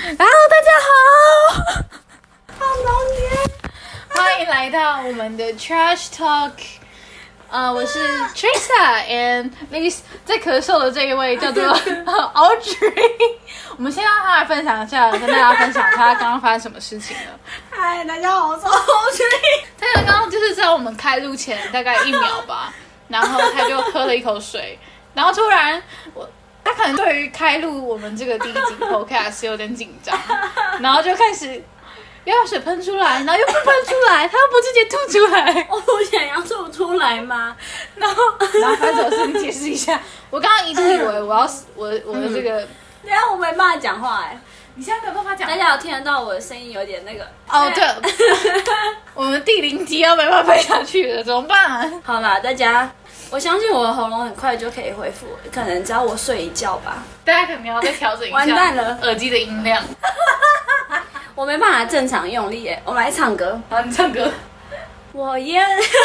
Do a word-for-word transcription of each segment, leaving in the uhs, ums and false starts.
Hello， 大家好， 好浓烈， 欢迎来到我们的 Trash Talk。呃，我是 Trista，and 那个在咳嗽的这一位叫做 Audrey。我们先让他来分享一下，跟大家分享他刚刚发生什么事情了。 嗨，大家好，我是 Audrey。 他刚刚就是在我们开录前大概一秒吧，然后他就喝了一口水，然后突然我。他可能对于开录我们这个第一集 podcast 有点紧张，然后就开始要把水喷出来，然后又不喷出来，他又不直接吐出来。 我不想要吐出来吗？ 然后，然后发生什么事？你解释一下。我刚刚一度以为我要我我的这个， 等下我没办法讲话哎。 你现在没有办法讲， 大家有听得到我的声音有点那个？ 哦，对了，我们第零集要没办法背下去了，怎么办啊？ 好啦，大家。我相信我的喉咙很快就可以恢复，可能只要我睡一觉吧。 大家可能要再调整一下， 完蛋了， 耳机的音量。 我没办法正常用力耶。我们来唱歌。 好，你唱歌。 我也。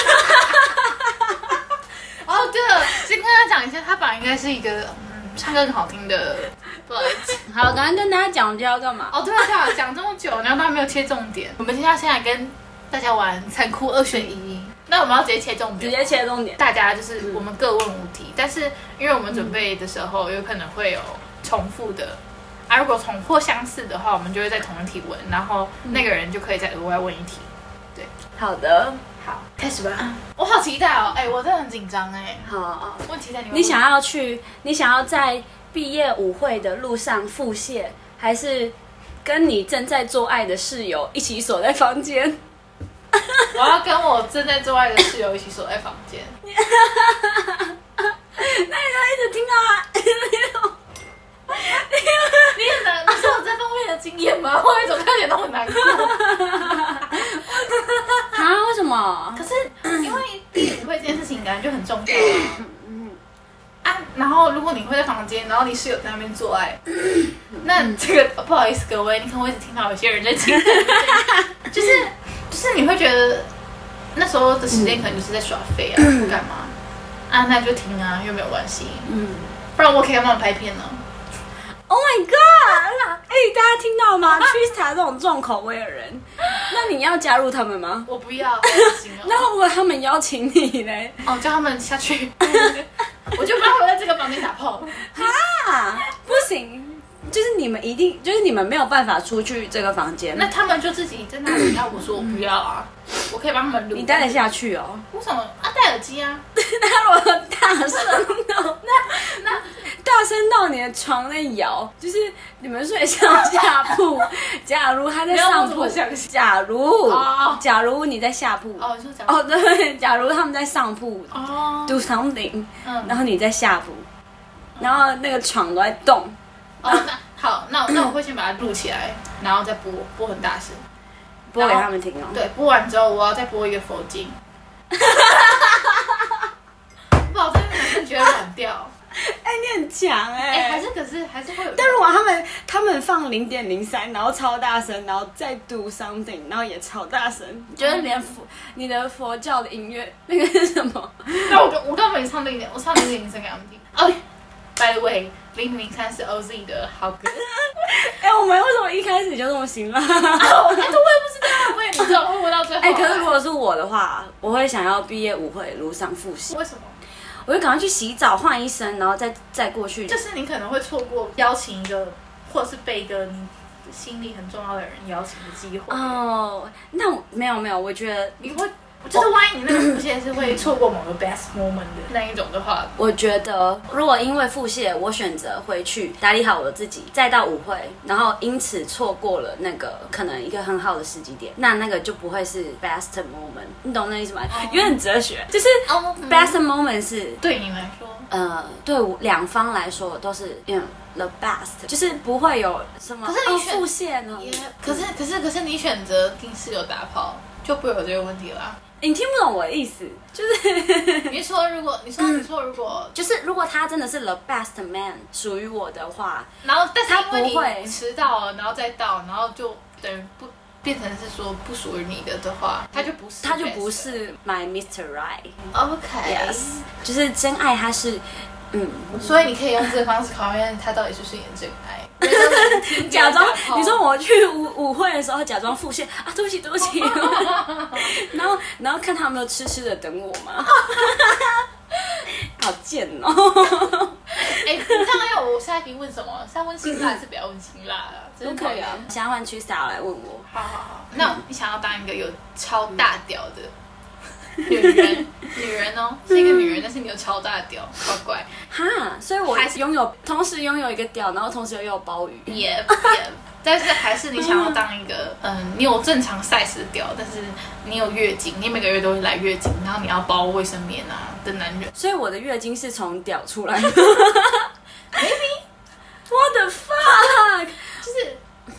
哦，对了，先跟他讲一下，他本来应该是一个嗯唱歌很好听的，不好意思。 好，刚刚跟大家讲我们要干嘛？ 哦，对啊，对啊，讲这么久，然后都还没有切重点。我们接下来先来跟大家玩残酷二选一。那我们要直接切重点， 直接切重点。 大家就是我们各问五题，嗯、但是因为我们准备的时候有可能会有重复的，啊，如果重或相似的话，我们就会在同一题问，然后那个人就可以再额外问一题。对， 好的， 好，开始吧。我好期待哦，哎、欸，我真的很紧张哎。 好， 我很期待你。 你想要去？你想要在毕业舞会的路上腹泻，还是跟你正在做爱的室友一起锁在房间？ 我要跟我正在做爱的室友一起锁在房间。 那你就一直听到啊！ 你很难，你是有这方面的经验吗？我怎么看起来都很难过？ 啊？为什么？ 可是因为毕业舞会这件事情感觉就很重要啊。啊，然后如果你会在房间，然后你室友在那边做爱，那这个不好意思各位，你可能会一直听到有些人在听，就是。就是你会觉得那时候的时间可能就是在耍废啊，不干嘛啊，那就停啊，又没有关系，嗯，不然我可以帮忙拍片呢。 Oh my god！ 哎、欸，大家听到吗 ？Trista 这种重口味的人，那你要加入他们吗？ 我不要，好恶心哦。 那如果他们邀请你嘞？ 哦，叫他们下去，我就不要回在这个房间打炮。 哈，不行。就是你们一定，就是你们没有办法出去这个房间， 那他们就自己在那里。要我说我不要啊，我可以帮他们录。 你戴得下去哦？ 为什么啊？戴耳机啊？ 那如果大声到那那大声到你的床在摇，就是你们睡上下铺。假如他在上铺，假如、哦、假如你在下铺， 哦，你说假如哦对，假如他们在上铺哦 do something，、嗯、然后你在下铺， 嗯、 然后那个床都在动。 哦，那好，那那我会先把它录起来，然后再播，播很大声， 播给他们听哦。 对，播完之后我要再播一个佛经。保证男生觉得软掉。 哎、欸，你很强哎、欸！ 哎、欸，还是可是还是会有。 但如果他们他们放零点零三，然后超大声，然后再 do something， 然后也超大声，觉得连佛你的佛教的音乐那个是什么？ 那我我刚没唱零点，我唱零点零三给他们听。哦、oh, ，by the way。零零三是 O Z 的好歌。 哎、欸，我们为什么一开始就这么辛辣？ 哎、哦，我也不知道，我也不知道会不会到最后。 哎、欸，可是如果是我的话，我会想要毕业舞会路上复习。 为什么？ 我就赶快去洗澡换一身，然后再再过去。 就是你可能会错过邀请一个，或者是被一个你心里很重要的人邀请的机会。 哦，那没有没有，我觉得你会。就是万一你那个腹泻是会错过某个 best moment 的那一种的话， 我觉得如果因为腹泻，我选择回去打理好我自己，再到舞会，然后因此错过了那个可能一个很好的时机点，那那个就不会是 best moment， 你懂那意思吗？ Oh. 有点哲学，就是 best moment 是对你来说， 呃，对两方来说都是 you know, the best， 就是不会有什么。 可是你选、 哦、腹泻呢？ 可是可是可是你选择听室友打炮，就不会有这个问题啦。 你听不懂我的意思，就是你说如果你说你说如果、 嗯、就是如果他真的是 the best man 属于我的话， 然后但是他因不会为你迟到了，然后再到，然后就等于不变成是说不属于你的的话，他就不是他就不是 my Mister Right。OK，yes， 就是真爱，他是嗯， 所以你可以用这个方式考验他到底是不是你的真爱。 假装你说我去舞舞会的时候假装腹泻啊，对不起对不起，然后然后看他有没有痴痴的等我嘛，好贱哦！ 哎、欸，你这样要我下一题问什么？是要问辛辣还是不要问辛辣啊？真可以啊，想要换去 style 来问我。 好好好，那你想要当一个有超大屌的女人？女人哦，是一个女人，但是你有超大屌，怪怪。 哈，所以我还是拥有，同时拥有一个屌，然后同时又有鲍鱼。 也也，但是还是你想要当一个，嗯，你有正常 size 的屌，但是你有月经，你每个月都会来月经，然后你要包卫生棉啊的男人。 所以我的月经是从屌出来的。Maybe what the fuck？ 就是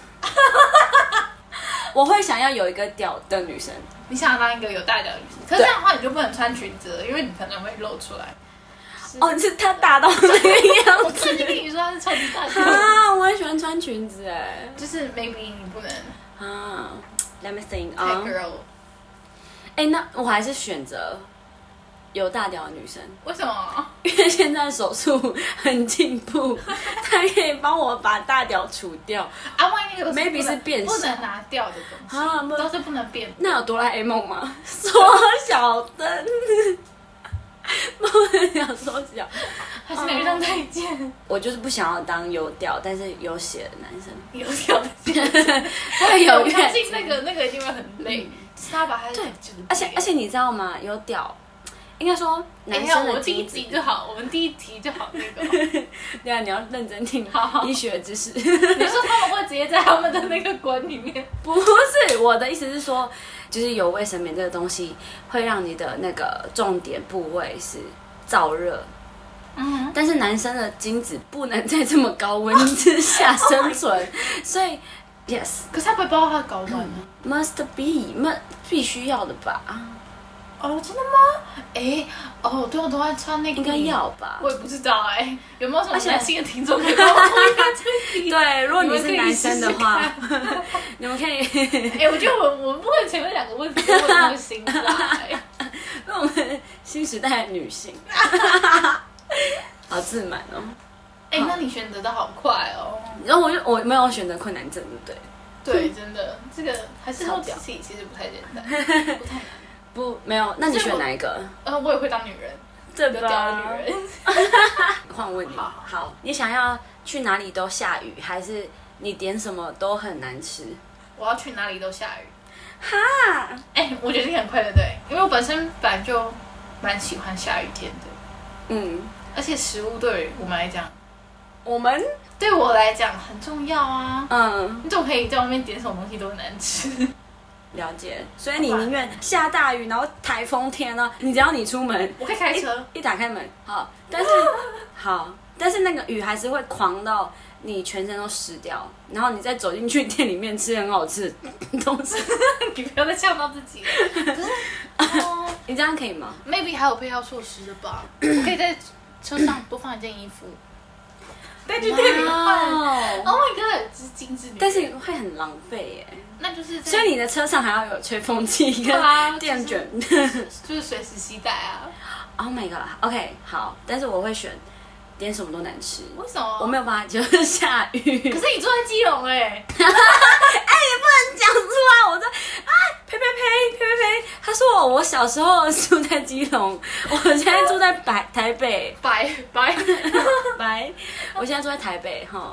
我会想要有一个屌的女生。 你想要当一个有大屌的女生，可是这样的话你就不能穿裙子了，因为你可能会露出来。 哦，是她大到那个样子。 我特地跟你说她是超级大屌。 啊，我很喜欢穿裙子哎。 就是 maybe 你不能啊 ，Let me think 太 girl。 哎，那我还是选择有大屌的女生。 为什么？ 因为现在手术很进步，它可以帮我把大屌除掉。 啊，万一那个 maybe 是变不能拿掉的东西，啊、都是不能变。 那有哆啦 A 梦吗？缩小灯，不能缩小， 还是哪张太监？ 我就是不想要当有屌但是有血的男生。 有屌的男生， 会有。 我相信那个那个一定会很累，是他把他对，而且而且你知道吗？有屌。应该说，男生的第一集就好，我们第一题就好那个。 对啊，你要认真听医学知识。你说他们会直接在他们的那个管里面？ 不是，我的意思是说，就是有卫生棉这个东西会让你的那个重点部位是燥热。嗯，但是男生的精子不能在这么高温之下生存， oh、所以 yes。 可是他不会包他的睾丸呢、 嗯、？Must be， 那必须要的吧？ 哦，真的吗？哎，哦，对，我都在穿那个， 应该要吧？ 我也不知道哎、欸，有没有什么男性的听众可以帮我回答这题？ 对，如果你是男生的话，你们可以。 哎、欸，我觉得我我们不能前面两个问题都问那个辛辣、欸， 因为我们新时代的女性，好自满哦。 哎、欸，那你选择的好快哦。 然后我就我没有选择困难症，对不对？对，真的，这个还是超屌，其实不太简单，不太难。 不，没有。那你选哪一个？ 呃，我也会当女人， 对吧？屌的女人。 换问你，好，好，你想要去哪里都下雨，还是你点什么都很难吃？ 我要去哪里都下雨。 哈， 哎、欸，我觉得你很快，对不对？因为我本身本来就蛮喜欢下雨天的。嗯，而且食物对我们来讲， 我们对我来讲很重要啊。嗯，你总可以在外面点什么东西都很难吃。 了解，所以你宁愿下大雨，然后台风天呢？你只要你出门， 我可以开车， 一, 一打开门，好，但是好，但是那个雨还是会狂到你全身都湿掉，然后你再走进去店里面吃很好吃的东西， 你不要再呛到自己了。可是，哦， 你这样可以吗 ？Maybe 还有配套措施的吧？我可以在车上多放一件衣服。带去店里换 ，Oh my god， 这是精致女人， 但是会很浪费耶。 那就是， 所以你的车上还要有吹风机跟电卷， 就是就是随时携带啊。 Oh my god，OK， 好，但是我会选点什么都难吃。 为什么？ 我没有办法接受下雨。 可是你住在基隆哎、欸，哎也不能讲出来，我说啊呸呸呸呸呸呸，他说我我小时候住在基隆，我现在住在台台北， 白白白，我现在住在台北哈。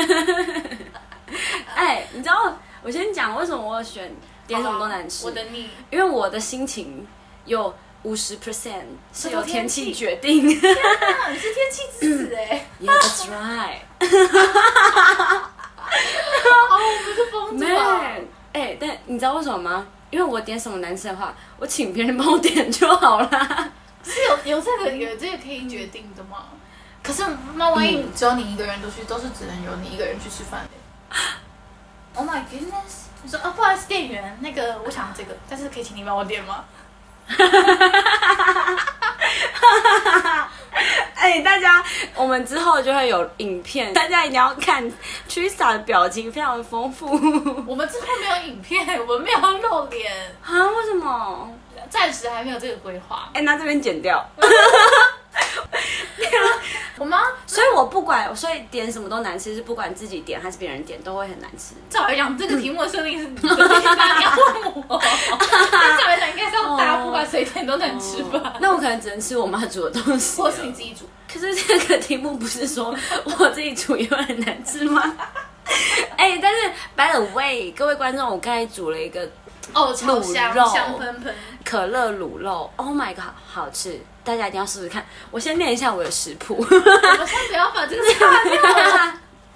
哎，你知道我先讲为什么我选点什么都难吃？ 我等你， 因为我的心情有五十 percent 是由天气决定。 天哪，你是天气之子哎 ！Yeah, that's right 哦，我不是疯子啊！ 哎，但你知道为什么吗？因为我点什么难吃的话，我请别人帮我点就好啦。 是有有这个有这个可以决定的吗？可是那万一只有你一个人都去，都是只能由你一个人去吃饭的。Oh my goodness！ 你说啊，不好意思，店员，那个我想要这个，但是可以请你帮我点吗？ 哎，大家，我们之后就会有影片，大家一定要看 Trista 的表情非常的丰富。 我们之后没有影片，我们没有露脸啊？为什么？ 暂时还没有这个规划。 哎，那这边剪掉。 我妈， 所以我不管，所以点什么都难吃，是不管自己点还是别人点都会很难吃。 照来讲，这个题目的设定是你的，你要问我。照来讲，应该是要大家不管谁点都能吃吧？ 哦、那我可能只能吃我妈煮的东西， 或是你自己煮。 可是这个题目不是说我自己煮也会很难吃吗？哎、欸，但是 by the way， 各位观众，我刚才煮了一个哦，超香，香喷喷， 可乐卤肉 ，Oh my god， 好吃，大家一定要试试看。我先念一下我的食谱。 我先不要把这个擦掉了，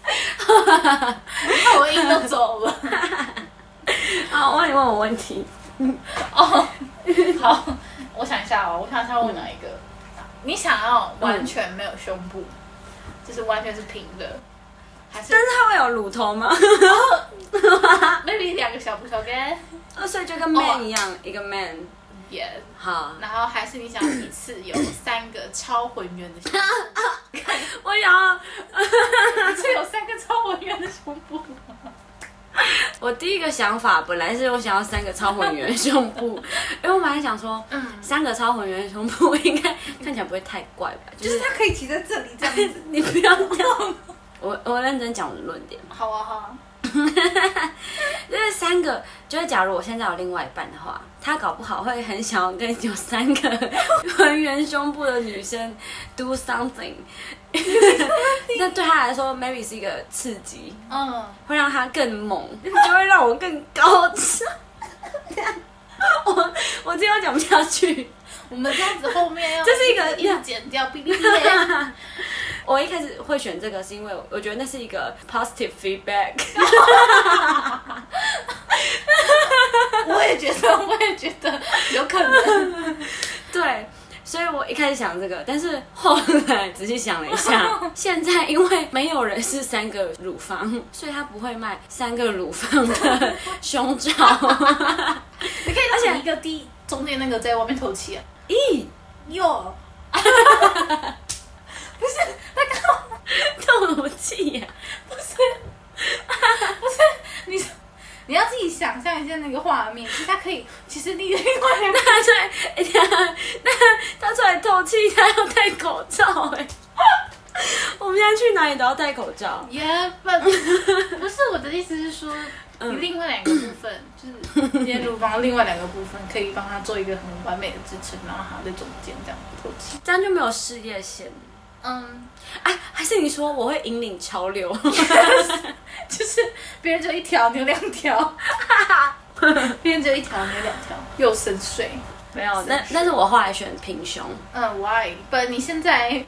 你看我音都走了。 好，我问你问我问题。 哦，好，我想一下哦，我想一下问哪一个？嗯、你想要完全没有胸部，嗯、就是完全是平的。但是它会有乳头吗 ？maybe 两个小不小跟， 所以就跟 man 一样， oh, 一个 man。 Yeah。 好。 然后还是你想一次有三个超浑圆的胸部？ 我想要一次有三个超浑圆的胸部。 我第一个想法本来是我想要三个超浑圆的胸部，因为我本来想说，嗯，三个超浑圆的胸部应该看起来不会太怪吧？ 就是、就是它可以骑在这里这样子。 你不要这样。我我认真讲我的论点。 好啊好啊。 就是三个，就是假如我现在有另外一半的话，他搞不好会很想要跟有三个浑圆胸部的女生 do something。那对他来说 ，maybe 是一个刺激，嗯，会让他更猛，就会让我更高潮。我我这样讲不下去。 我们这样子后面要这是一个要剪掉，哔哔哔。 我一开始会选这个，是因为我觉得那是一个 positive feedback。 我也觉得，我也觉得有可能。 对，所以我一开始想这个，但是后来仔细想了一下，现在因为没有人是三个乳房，所以他不会卖三个乳房的胸罩。 你可以而且一个 D 中间那个在外面透气啊。 咦哟。不是，他刚透什么气呀？ 不是，不是，你你要自己想象一下那个画面，其实他可以，其实你另外两个他出来，那他出来透气，他要戴口罩哎。我们现在去哪里都要戴口罩。 Yeah, but 不是我的意思是说，你另外两个部分，就是今天乳房另外两个部分，可以帮他做一个很完美的支撑，然后他在中间这样透气， 这样就没有事业线。嗯，哎，还是你说我会引领潮流， 就是别人只有一条，你有两条，别人只有一条，你有两条，又深邃。 没有，但但是我后来选平胸。 嗯 ，Why？ But 你现在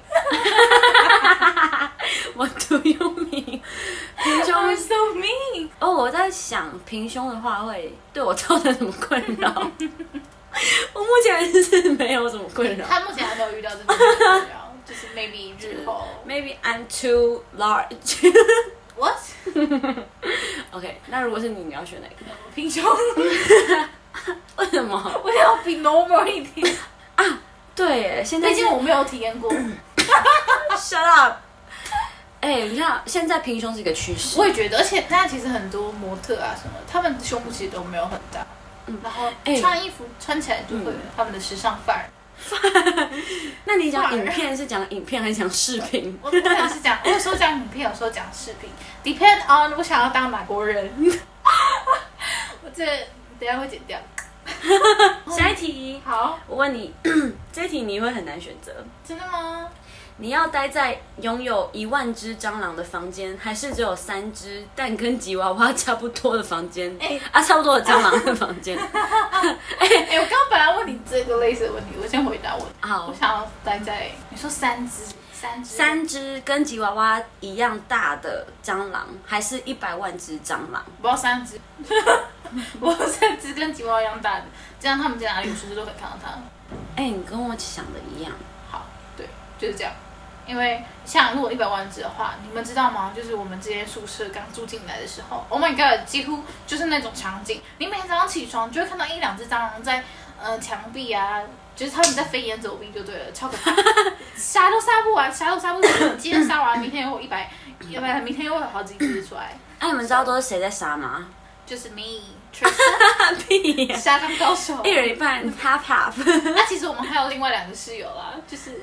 ，What do you mean？ 平胸 I'm so mean。 哦，我在想平胸的话会对我造成什么困扰？我目前是没有什么困扰。 他目前还没有遇到这种困扰。就是 maybe 日后 ，maybe I'm too large 。 What？ OK， 那如果是你，你要选哪个？ 平胸。 为什么？ 我要比 normal 一点啊！对耶，现在毕竟我没有体验过。 Shut up！ 哎、欸，你看，现在平胸是一个趋势。 我也觉得，而且现在其实很多模特啊什么，他们胸部其实都没有很大，嗯，然后穿衣服、欸、穿起来就会有他们的时尚范儿。 那你讲影片是讲影片还是讲视频？ 我可能是讲，我有时候讲影片，有时候讲视频 ，depend on 我想要当哪国人。我这等一下会剪掉。 下一题， 好， 我问你，这一题你会很难选择。 真的吗？ 你要待在拥有一万只蟑螂的房间，还是只有三只但跟吉娃娃差不多的房间？哎、欸、啊，差不多的蟑螂的房间。哎哎、欸欸，我刚刚本来问你这个类似的问题，我先回答我。好，我想要待在你说三只，三只， 三只跟吉娃娃一样大的蟑螂，还是一百万只蟑螂？ 不要三只，我要三只跟吉娃娃一样大的，这样他们在哪里有书都可以看到它。 哎、欸，你跟我想的一样。 好，对，就是这样。因为像如果一百万只的话，你们知道吗？就是我们这间宿舍刚住进来的时候 ，Oh my god， 几乎就是那种场景。你每天早上起床就会看到一两只蟑螂在呃墙壁啊，就是他们在飞檐走壁就对了，超可怕。杀都杀不完，杀都杀不完。今天杀完，明天又有一百，要不然明天又会有好几只出来。 哎、啊，你们知道都是谁在杀吗？ 就是 me，Tristan， 屁，杀蟑高手， 一人一半 ，half half。 那其实我们还有另外两个室友啦，就是。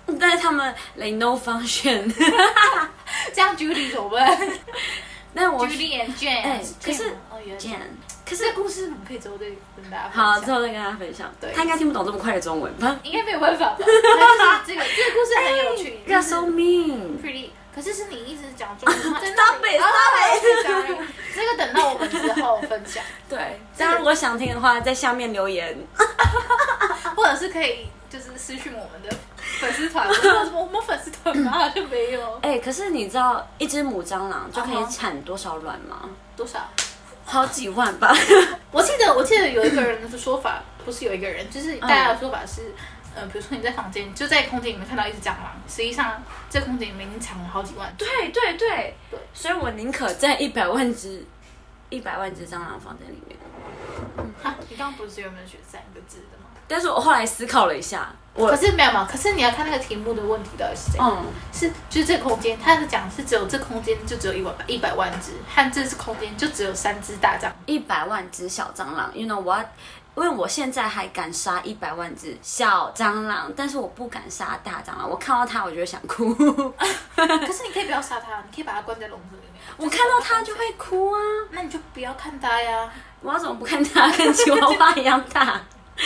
但是他们 like no function。 这样 Judy 怎么办？ 那我 Judy and Jane， 哎，可是哦，原来 Jane， 可是这故事我们可以之后再跟大家分享。 好，之后再跟大家分享。 对， 他应该听不懂这么快的中文吧？ 应该没有办法吧？但是这个这个故事很有趣。 You're so mean。 Pretty， 可是是你一直讲中文。 Stop it！Stop it！这个等到我们之后分享。 对，大家如果想听的话，在下面留言， 或者是可以就是私讯我们的粉丝团。我们粉丝团嘛就没有。 哎，可是你知道一只母蟑螂就可以产多少卵吗？ 多少？ 好几万吧。 我记得我记得有一个人的说法，不是有一个人，就是大家的说法是。呃，比如说你在房间，就在空间里面看到一只蟑螂，实际上这空间里面已经藏了好几万只。 对对对对， 所以我宁可在一百万只、一百万只蟑螂房间里面。 嗯，啊，你刚刚不是原本选三个字的吗？ 但是我后来思考了一下，我可是没有嘛，可是你要看那个题目的问题到底是怎样。嗯，是就是这个空间，他是讲是只有这空间就只有一百一百万只，和这次空间就只有三只大蟑螂， 一百万只小蟑螂。You know what？因为我现在还敢杀一百万只小蟑螂，但是我不敢杀大蟑螂。我看到它，我就会想哭。 可是你可以不要杀它，你可以把它关在笼子里面。 我看到它就会哭啊。 那你就不要看它呀。 我要怎么不看它？跟吉娃娃一样大。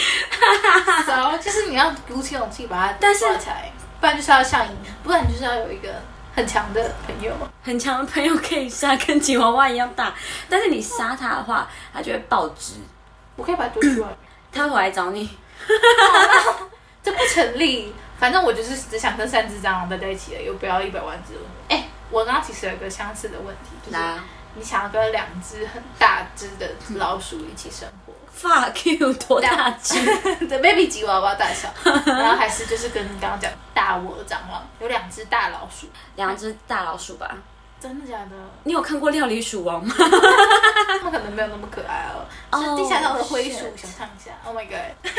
so, 就是你要鼓起勇气把它抓起来，不然就是要像你，不然你就是要有一个很强的朋友。 很强的朋友可以杀跟吉娃娃一样大，但是你杀它的话，它就会爆汁。 我可以把它丢出来， 他会回来找你。 这不成立。反正我就是只想跟三只蟑螂待在一起了，又不要一百万只。哎、欸，我刚刚其实有一个相似的问题，就是你想要跟两只很大只的老鼠一起生活。 Fuck you， 多大只？ 对 ，baby 吉娃娃大小，然后还是就是跟你刚刚讲大窝蟑螂，有两只大老鼠， 两只大老鼠吧。 真的假的？ 你有看过《料理鼠王》吗？ 他们可能没有那么可爱哦。是地下道的灰鼠，想象一下。Oh my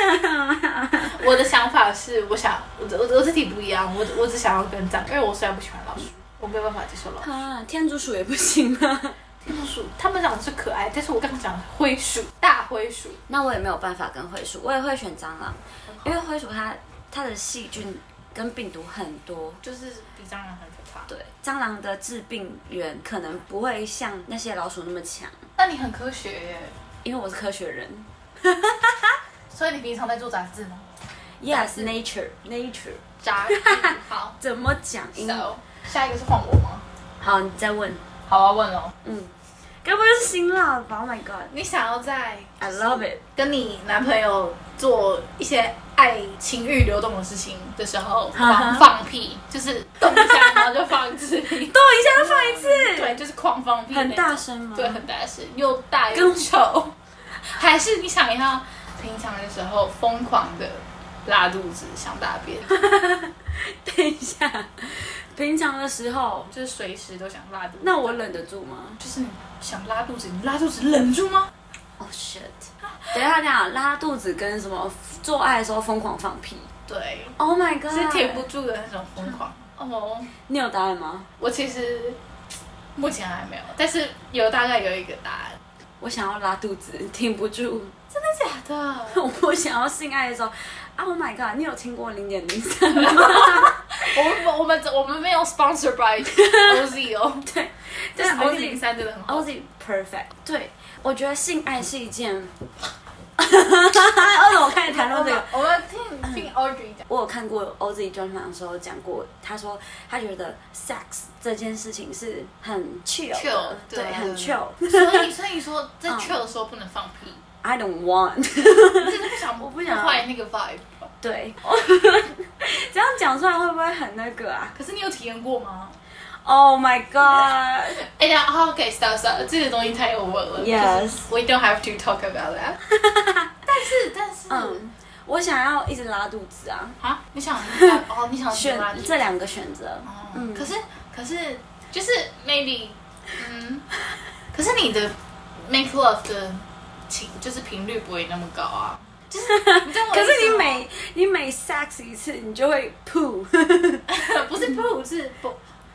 god！ 我的想法是，我想我我我这题不一样，我我只想要跟蟑，因为我虽然不喜欢老鼠，我没有办法接受老鼠。 啊，天竺鼠也不行吗？ 天竺鼠，他们长得是可爱，但是我刚刚讲的灰鼠，大灰鼠， 那我也没有办法跟灰鼠，我也会选蟑螂，因为灰鼠它它的细菌跟病毒很多， 就是比蟑螂很可怕。 对，蟑螂的致病源可能不会像那些老鼠那么强。 那你很科学耶， 因为我是科学人。 所以你平常在做杂志吗 ？Yes, nature, nature。 杂志好， 怎么讲？ So, 下一个是换我吗？ 好，你再问。 好啊，问哦。 嗯。该不会是辛辣吧 ？Oh my god！ 你想要在 I love it 跟你男朋友做一些爱情欲流动的事情的时候，狂放屁，就是动一下然后就放一次屁，动一下就放一次， 对，就是狂放屁， 很大声吗？ 对，很大声，又大又臭。还是你想要平常的时候疯狂的拉肚子想大便？ 等一下。平常的时候就是随时都想拉肚子， 那我忍得住吗？ 就是你想拉肚子，你拉肚子忍住吗？ Oh shit！ 等一下讲拉肚子跟什么做爱的时候疯狂放屁。 对 ，Oh my god！ 是停不住的那种疯狂。哦， 你有答案吗？ 我其实目前还没有，但是有大概有一个答案。 我想要拉肚子，停不住。 真的假的？ 我不想要性爱的时候 ，Oh my god！ 你有听过零点零三吗？ 我们我们我们没有 sponsor by O Z 哦， 对， 但是 O Z 零三真的很好 ，O Z perfect。对，我觉得性爱是一件。为什么我开始谈论这个？ 我们听听 Audrey 讲。 我有看过 O Z 专访的时候讲过，他说他觉得 sex 这件事情是很 chill 的，对，很 chill。 所以所以说在 chill 的时候不能放屁。 I don't want。 你真的不想， 我不想坏那个 vibe。 对，这样讲出来会不会很那个啊？ 可是你有体验过吗 ？Oh my god！ 哎呀，好 ，OK，stop stop，这个东西太 over 了。 Yes， we don't have to talk about that 但是但是， 嗯，我想要一直拉肚子啊！ 啊，你想哦，你想选这两个选择。 嗯，可是可是就是 maybe， 嗯，可是你的 make love 的情就是频率不会那么高啊。就是， 可是你每你每 sex 一次，你就会噗， 不是噗是不，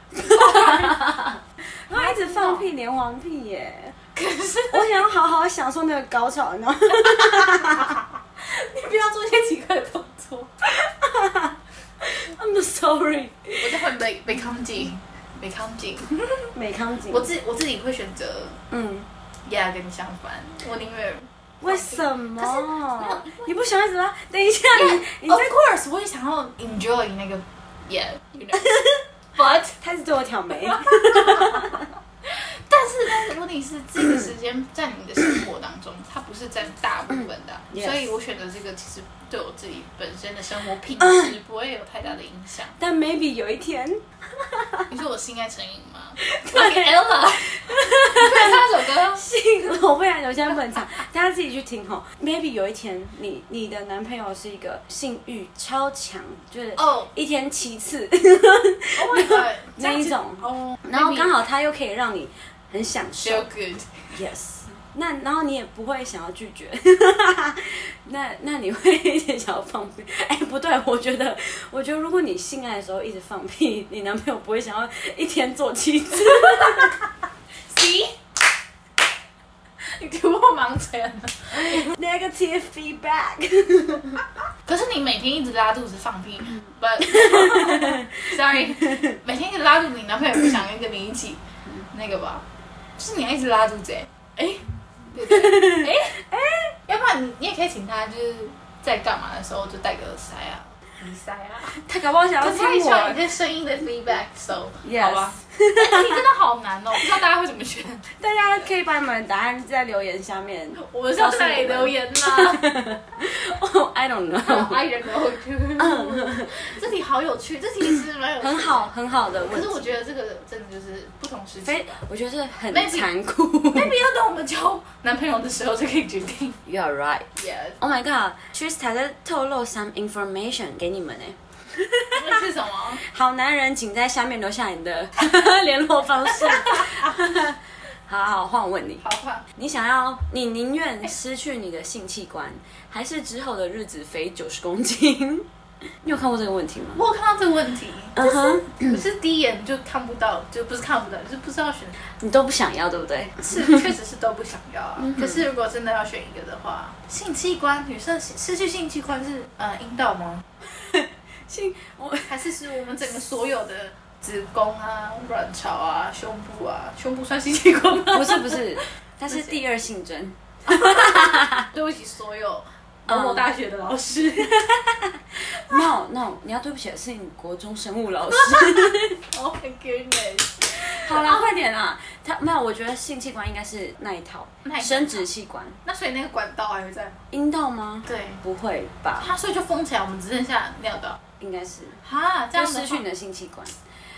然后一直放屁连环屁耶。 可是我想要好好享受那个高潮，你知道吗？ 你不要做一些奇怪的动作。 I'm sorry， 我就会没没康紧，没康紧， 美康景。 我自我自己会选择， 嗯， yeah 跟你相反，我宁愿。 为什么？ 可是你不想一直拉？等一下， Yeah, 你你 of 在 course， 我也想要 enjoy 那个 yeah，you know，but 他是对我挑眉。 但是但是问题是，这个时间在你的生活当中，它不是占大部分的， 嗯 yes 所以我选择这个其实对我自己本身的生活品质不会有太大的影响。 但 maybe 有一天， 你说我性爱成瘾吗？对 ，Ella， 你会唱这首歌？ 信我不然我现在不能唱，大家自己去听吼。Maybe 有一天，你你的男朋友是一个性欲超强，就是哦一天七次 ，Oh my god， 那一种， 哦， 然后刚好他又可以让你很享受 feel good。 ，yes。那然后你也不会想要拒绝，那那你会一直想要放屁？哎，不对，我觉得，我觉得如果你性爱的时候一直放屁，你男朋友不会想要一天做七次。 See， 你突破盲圈了。 Negative feedback 。 可是你每天一直拉肚子放屁，but sorry， 每天一直拉肚子，你男朋友不想跟你一起那个吧？就是你要一直拉肚子，哎、欸，对不对？哎哎，要不然你你也可以请他，就是在干嘛的时候就戴个耳塞啊。鼻塞啊， 他搞不好想要可是他听需要我。 你这声音的 feedback，so Yes 好吧？哎你真的好难哦，不知道大家会怎么选。 大家可以把你们的答案在留言下面。 我们是要在哪里留言呢哦 I don't know ？I don't know。这题好有趣，这题其实蛮有趣的。 很好，很好的问题。 可是我觉得这个真的就是不同时期非，我觉得是很 Maybe- 残酷。 ，maybe 要等我们交男朋友的时候才可以决定。 You are right. Yes， Oh my god， Trista 在透露 some information 给你们呢。 那是什么？ 好男人，请在下面留下你的联络方式。好好，换我问你， 好换。 你想要，你宁愿失去你的性器官，还是之后的日子肥九十公斤？你有看过这个问题吗？ 我有看到这个问题， 嗯哼， 可是第一眼就看不到，就不是看不到，就是不知道选。 你都不想要，对不对？ 是，确实是都不想要啊。可是如果真的要选一个的话，性器官，女生失去性器官是呃阴道吗？ 性我还是是我们整个所有的子宫啊、卵巢啊、胸部啊，胸部算性器官吗？ 不是不是，它是第二性征。 对不起，所有某某大学的老师。 No no， 你要对不起的是你国中生物老师。 Oh my goodness！ 好啦，快点啦！他没有，我觉得性器官应该是那一套那一套生殖器官， 那所以那个管道还会在吗？ 阴道吗？ 对， 不会吧？ 它所以就封起来，我们只剩下尿道。 应该是， 哈，这样的话就失去你的性器官。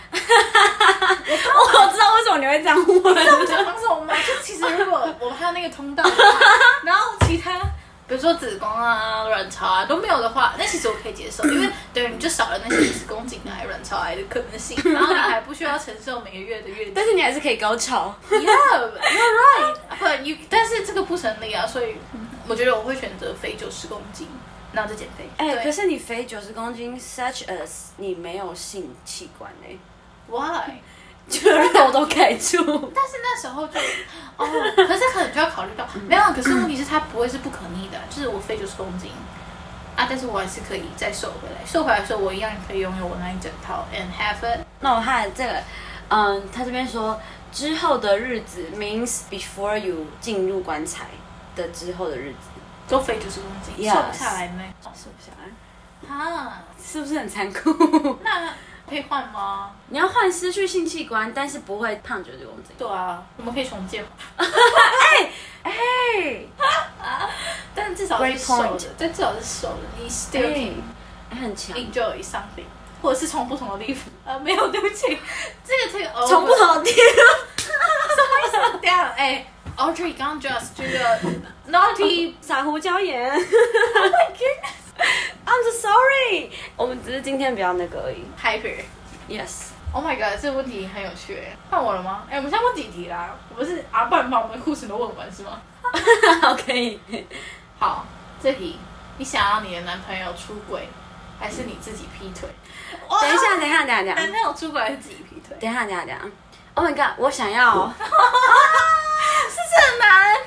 我知道为什么你会这样问。 知道我讲什么吗？就其实如果我还有那个通道的话，然后其他比如说子宫啊、卵巢啊都没有的话，那其实我可以接受，因为等于你就少了那些子宫颈癌、卵巢癌的可能性，然后你还不需要承受每个月的月经。 但是你还是可以高潮。 Yeah, you're right. But you， 但是这个不成立啊，所以我觉得我会选择肥九十公斤，然后再减肥。 哎、 对可是你肥九十公斤 ，such as 你没有性器官哎、 Why？ 就肉都盖住。 但是那时候就哦，可是可能就要考虑到没有，可是问题是它不会是不可逆的，就是我肥九十公斤啊，但是我还是可以再瘦回来，瘦回来的时候我一样可以拥有我那一整套 and have it。 那我看这个，嗯，他这边说之后的日子 means before you 进入棺材的之后的日子， 都肥九十公斤 Yes 瘦不下来没？ 瘦不下来， 啊， 是不是很残酷？ 那可以换吗？ 你要换失去性器官，但是不会胖九十公斤。 对啊，我们可以重建嘛。 哎哎， 但至少是 Great 瘦 point 的，但至少是瘦的，你 still can 哎很强。 enjoy something， 或者是从不同的地方。呃，没有，对不起，这个这个从不同的地方， 什么意思？这样哎 ，Audrey 刚 just 这个 naughty 撒胡椒盐。 ，Oh my goodness， I'm so sorry， 我们只是今天比较那个而已。 hyper。 Yes， Oh my god， 这个问题很有趣哎，换我了吗？哎，我们现在问几题啦？我们是啊，不然把我们的故事都问完是吗？ 好，可以。 好，这题，你想要你的男朋友出轨，还是你自己劈腿？ 等一下，等一下，等一下，等一男下， 朋友出轨还是自己劈腿？ 等一下，等一下，等一下。Oh my god， 我想要是不是很难？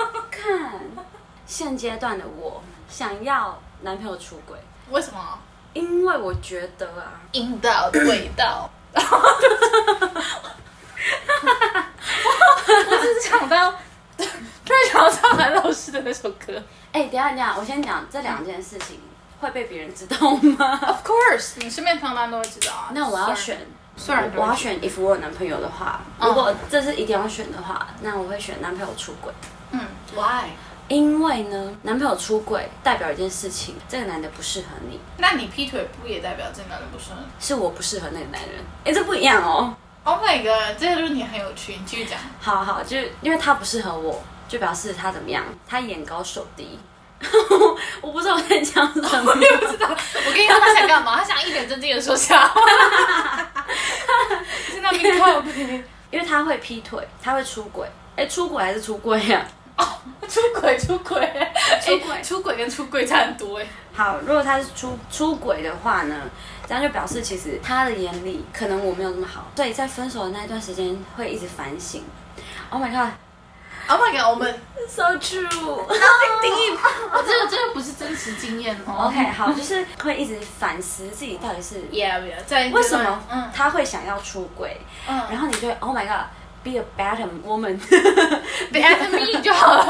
看现阶段的我想要男朋友出轨， 为什么？ 因为我觉得啊， 阴道的味道。我只是想到，突然想到唱韩老师的那首歌。 哎、欸，等一下等一下，我先讲这两件事情会被别人知道吗 ？Of course， 你身边常常都会知道啊。 那我要选， 虽然我要选 if 我有男朋友的话，嗯、如果这是一定要选的话，那我会选男朋友出轨。 嗯 ，Why？ 因为呢，男朋友出轨代表一件事情，这个男的不适合你。 那你劈腿不也代表这个男的不适合你？ 是我不适合那个男人。哎、欸，这不一样哦。 Oh my god， 这个论点很有趣，你继续讲。 好好，就因为他不适合我，就表示他怎么样？他眼高手低。我不知道我在讲什么， 我也不知道。我跟你说他想干嘛？他想一本正经的说瞎话。在那边靠背。 因为他会劈腿，他会出轨。哎、欸，出轨还是出柜啊？ 哦，出轨出轨，出轨出轨跟出柜差很多哎。 好，如果他是出出轨的话呢，这样就表示其实他的眼里可能我没有那么好，所以在分手的那一段时间会一直反省。Oh my god，Oh my god， 我们 so true。 定义，我这个真的不是真实经验哦。 OK， 好，就是会一直反思自己到底是 yeah yeah， 在为什么他会想要出轨，嗯，然后你就会 Oh my god。Be a better woman，better me 就好了。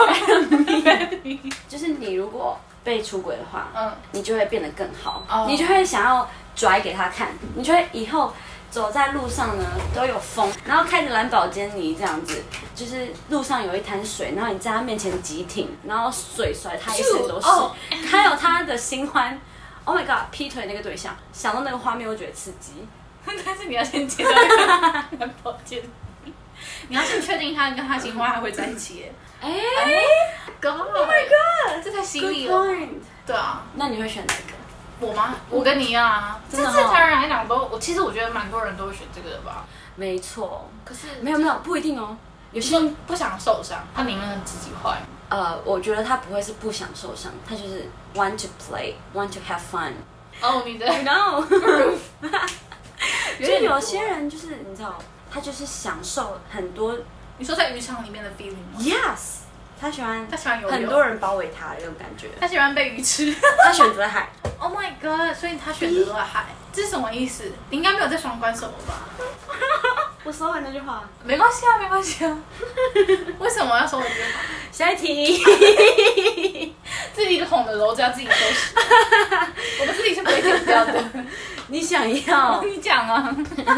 better me， 就是你如果被出轨的话，嗯，你就会变得更好，哦、你就会想要拽给他看，你就会以后走在路上呢都有风，然后开着兰博基尼这样子，就是路上有一滩水，然后你在他面前急停，然后水甩他一身都是，哦、还有他的新欢 ，Oh my god， 劈腿那个对象，想到那个画面我觉得刺激， 但是你要先接到兰博基尼。你要先确定他跟他新欢还会在一起耶。哎、欸、，God， Oh my God， 这太犀利了。对啊， 那你会选哪个？ 我吗？我跟你一样啊。正正常人来讲都，我其实我觉得蛮多人都会选这个的吧。 没错。 可是没有没有不一定哦。有些人不想受伤，他宁愿自己坏。 呃，我觉得他不会是不想受伤，他就是 want to play, want to have fun。 哦，你的 ，No。就有些人就是你知道。他就是享受很多， 你说在渔场里面的 feeling 吗 ？Yes， 他喜欢， 他喜欢游泳， 很多人包围他的那种感觉。 他喜欢被鱼吃， 他选择海。 Oh my god！ 所以他选择了海，这是什么意思？你应该没有在双关手了吧？ 我收回那句话。 没关系啊，没关系啊。为什么要收回这句话？ 下一题。 自己哄的篓子要自己收拾。我们自己是不会剪掉的。 你想要？ 你讲啊。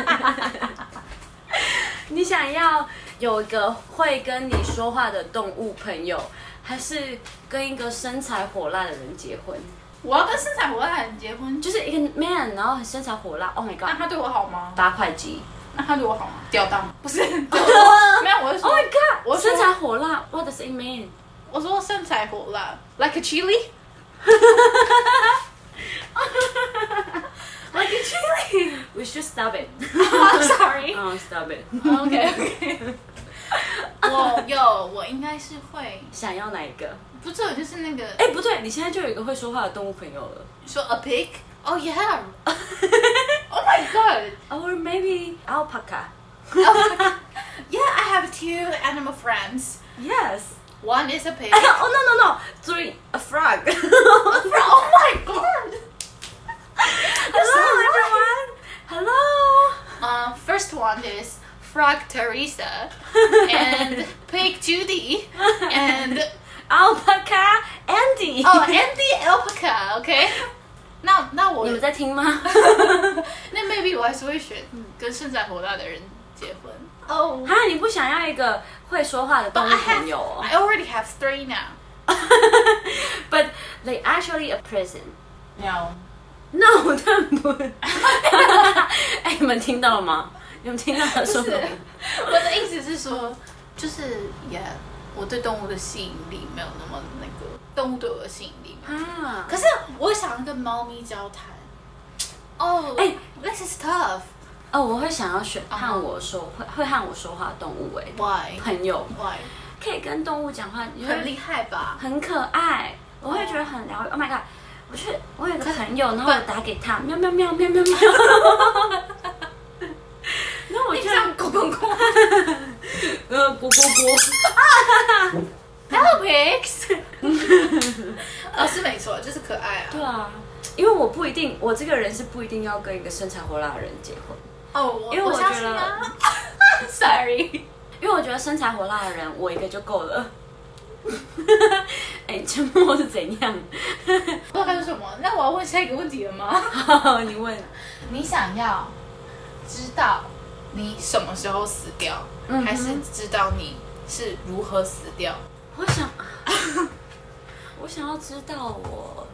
你想要有一个会跟你说话的动物朋友，还是跟一个身材火辣的人结婚？ 我要跟身材火辣的人结婚， 就是一个 man， 然后身材火辣。Oh my god！ 那他对我好吗？ 八块肌。 那他对我好吗？吊档不是？没有，我是说 ，Oh my god！ 我身材火辣 ，What does it mean？ 我说身材火辣 ，like a chili。Like a chili. We should stop it. Oh, sorry. Oh, stop it. OK OK. 我有，我应该是会想要哪一个？ 不是，我就是那个。 哎，不对，你现在就有一个会说话的动物朋友了。 你说 a pig? Oh yeah. Oh my god. Or maybe alpaca. Alpaca. Yeah, I have two animal friends. Yes. One is a pig. Oh no no no. Three, a frog. A frog. Oh my god. Hello everyone. Hello. Um, first one is Frog Teresa and Pig Judy and Alpaca Andy. Oh, Andy Alpaca. OK. 那那我你们在听吗？ 那 maybe 我还是会选跟身材火辣的人结婚。 哦，哈，你不想要一个会说话的动物朋友哦 ？I already have three now. But they actually a prison. No. No， 他们不。哎，你们听到了吗？你们听到他说什么？ 我的意思是说，就是也， yeah, 我对动物的吸引力没有那么那个，动物对我的吸引力啊。可是我想要跟猫咪交谈。哦，哎 ，this is tough。 哦，我会想要选和我说会会和我说话的动物哎 ，Why？ 朋友 ，Why？ 可以跟动物讲话， 很厉害吧？ 很可爱，我会觉得很疗愈。Oh my god！ 我去，我有个朋友，然后我打给他，喵喵喵喵喵喵。然后我就咕咕咕， 呃，咕咕咕。 Hello pigs。哦，是没错，就是可爱啊。 对啊， 因为我不一定，我这个人是不一定要跟一个身材火辣的人结婚。 哦， 因为我觉得、 啊、，sorry， 因为我觉得身材火辣的人，我一个就够了。哎、欸，沉默是怎样？ 不知道该说什么。那我要问下一个问题了吗？ 好，你问。 你想要知道你什么时候死掉，嗯、还是知道你是如何死掉？ 我想，我想要知道我。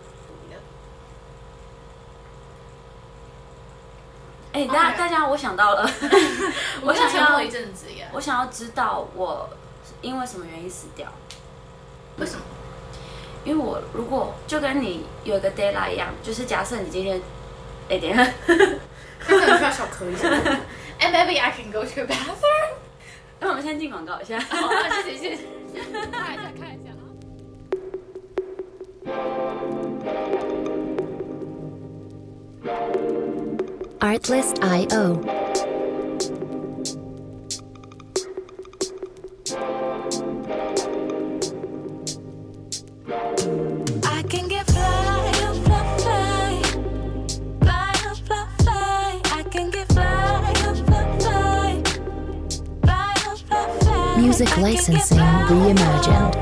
哎、欸，大家， Okay. 大家，我想到了， 我想要一阵子耶。 我想要知道我因为什么原因死掉。 为什么？ 因为我如果就跟你有一个 deadline 一样，就是假设你今天，哎、欸，等一下， 刚才你需要小咳一下。And maybe I can go to the bathroom。 那我们先进广告一下。 好，谢谢谢谢。看一下看一下。 Artlist dot I O Music licensing reimagined.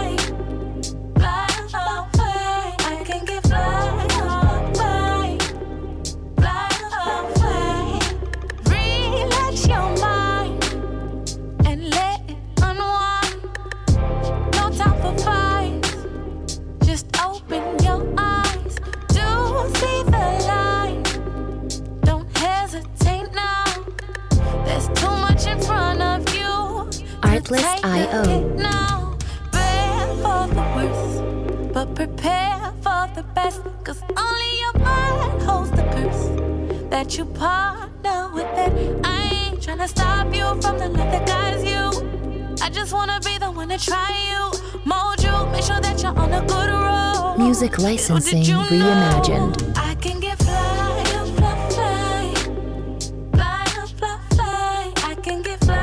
Artlist dot I O now, prepare for the worst, but prepare for the best. Cause only your mind holds the curse that you partner with it. I ain't tryna stop you from the love that guides you. I just wanna be the one to try you, mold you, make sure that you're on a good road. Music licensing reimagined. I can get fly, fly, fly, fly, fly, fly. I can get fly.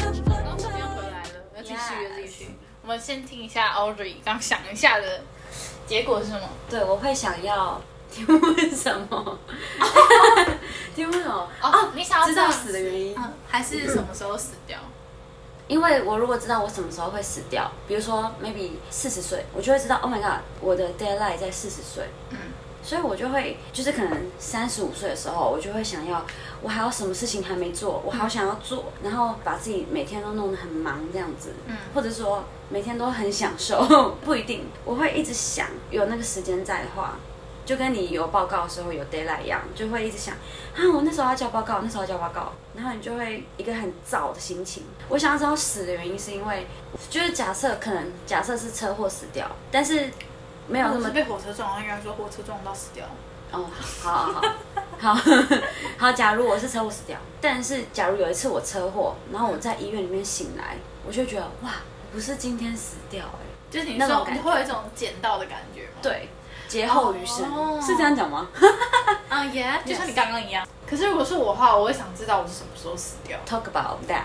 我们先听一下 Audrey 刚想一下的结果是什么？ 对，我会想要题目是什么？题目是什么？ 哦，你想要知道死的原因， 嗯，还是什么时候死掉？ 因为我如果知道我什么时候会死掉，比如说 maybe 四十岁，我就会知道 ，Oh my god， 我的 deadline 在四十岁，嗯，所以我就会就是可能三十五岁的时候，我就会想要，我还有什么事情还没做，我好想要做，然后把自己每天都弄得很忙这样子，嗯，或者说每天都很享受，不一定，我会一直想，有那个时间在的话。就跟你有报告的时候有 deadline 一样，就会一直想啊，我那时候要交报告，那时候要交报告，然后你就会一个很躁的心情。我想要知道死的原因是因为，就是假设可能假设是车祸死掉，但是没有那么被火车撞，应该说火车撞到死掉。 哦，好好好好好好，假如我是车祸死掉，但是假如有一次我车祸，然后我在医院里面醒来，我就会觉得哇，不是今天死掉哎、欸， 就是你说你会有一种捡到的感觉吗？ 对。劫后余生、oh. 是这样讲吗？ 啊耶，就像你刚刚一样。可是如果是我的话，我会想知道我是什么时候死掉。 Talk about that.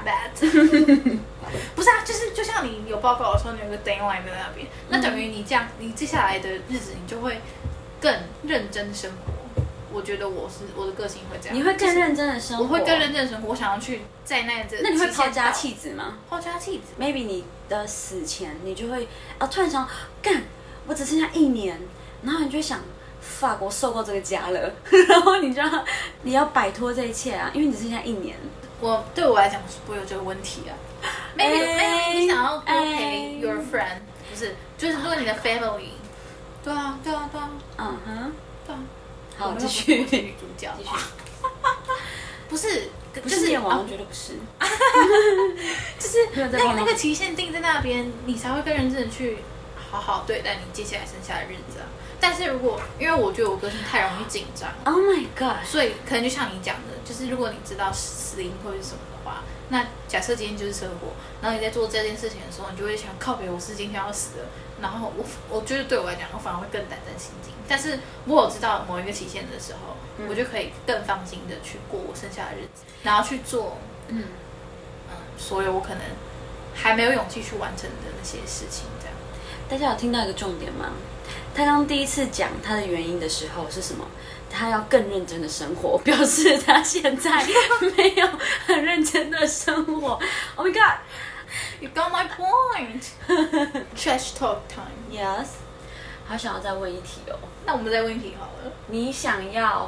That 不是啊，就是就像你有报告的时候，你有个 deadline 在那边，那等于你这样，你接下来的日子你就会更认真生活。我觉得我是我的个性会这样。 你会更认真的生活， 我会更认真的生活。我想要去在那这。 那你会抛家弃子吗？ 抛家弃子 ？Maybe 你的死前，你就会啊，突然想，干，我只剩下一年。然后你就会想，法国受够这个家了，然后你就要你要摆脱这一切啊，因为你只剩下一年。 我对我来讲是不会有这个问题啊。Maybe maybe 你想要多陪 your friend， 不是，就是如果你的 family， 对啊对啊对啊，嗯哼，对啊。 好，继续。 女主角，继续。不是， 不是念完，我觉得不是。 就是那那个期限定在那边，你才会更认真的去好好对待你接下来剩下的日子啊。但是如果因为我觉得我个性太容易紧张 ，Oh my god， 所以可能就像你讲的，就是如果你知道死因会是什么的话，那假设今天就是车祸，然后你在做这件事情的时候，你就会想靠北，我是今天要死了，然后我我觉得对我来讲，我反而会更胆战心惊。但是我有知道某一个期限的时候，嗯、我就可以更放心的去过我剩下的日子，然后去做嗯嗯所有我可能还没有勇气去完成的那些事情，这样。 大家有听到一个重点吗？他刚第一次讲他的原因的时候是什么？他要更认真的生活，表示他现在没有很认真的生活。Oh my god, You got my point. Trash talk time. yes. 好想要再问一题哦。 那我们再问一题好了。 你想要？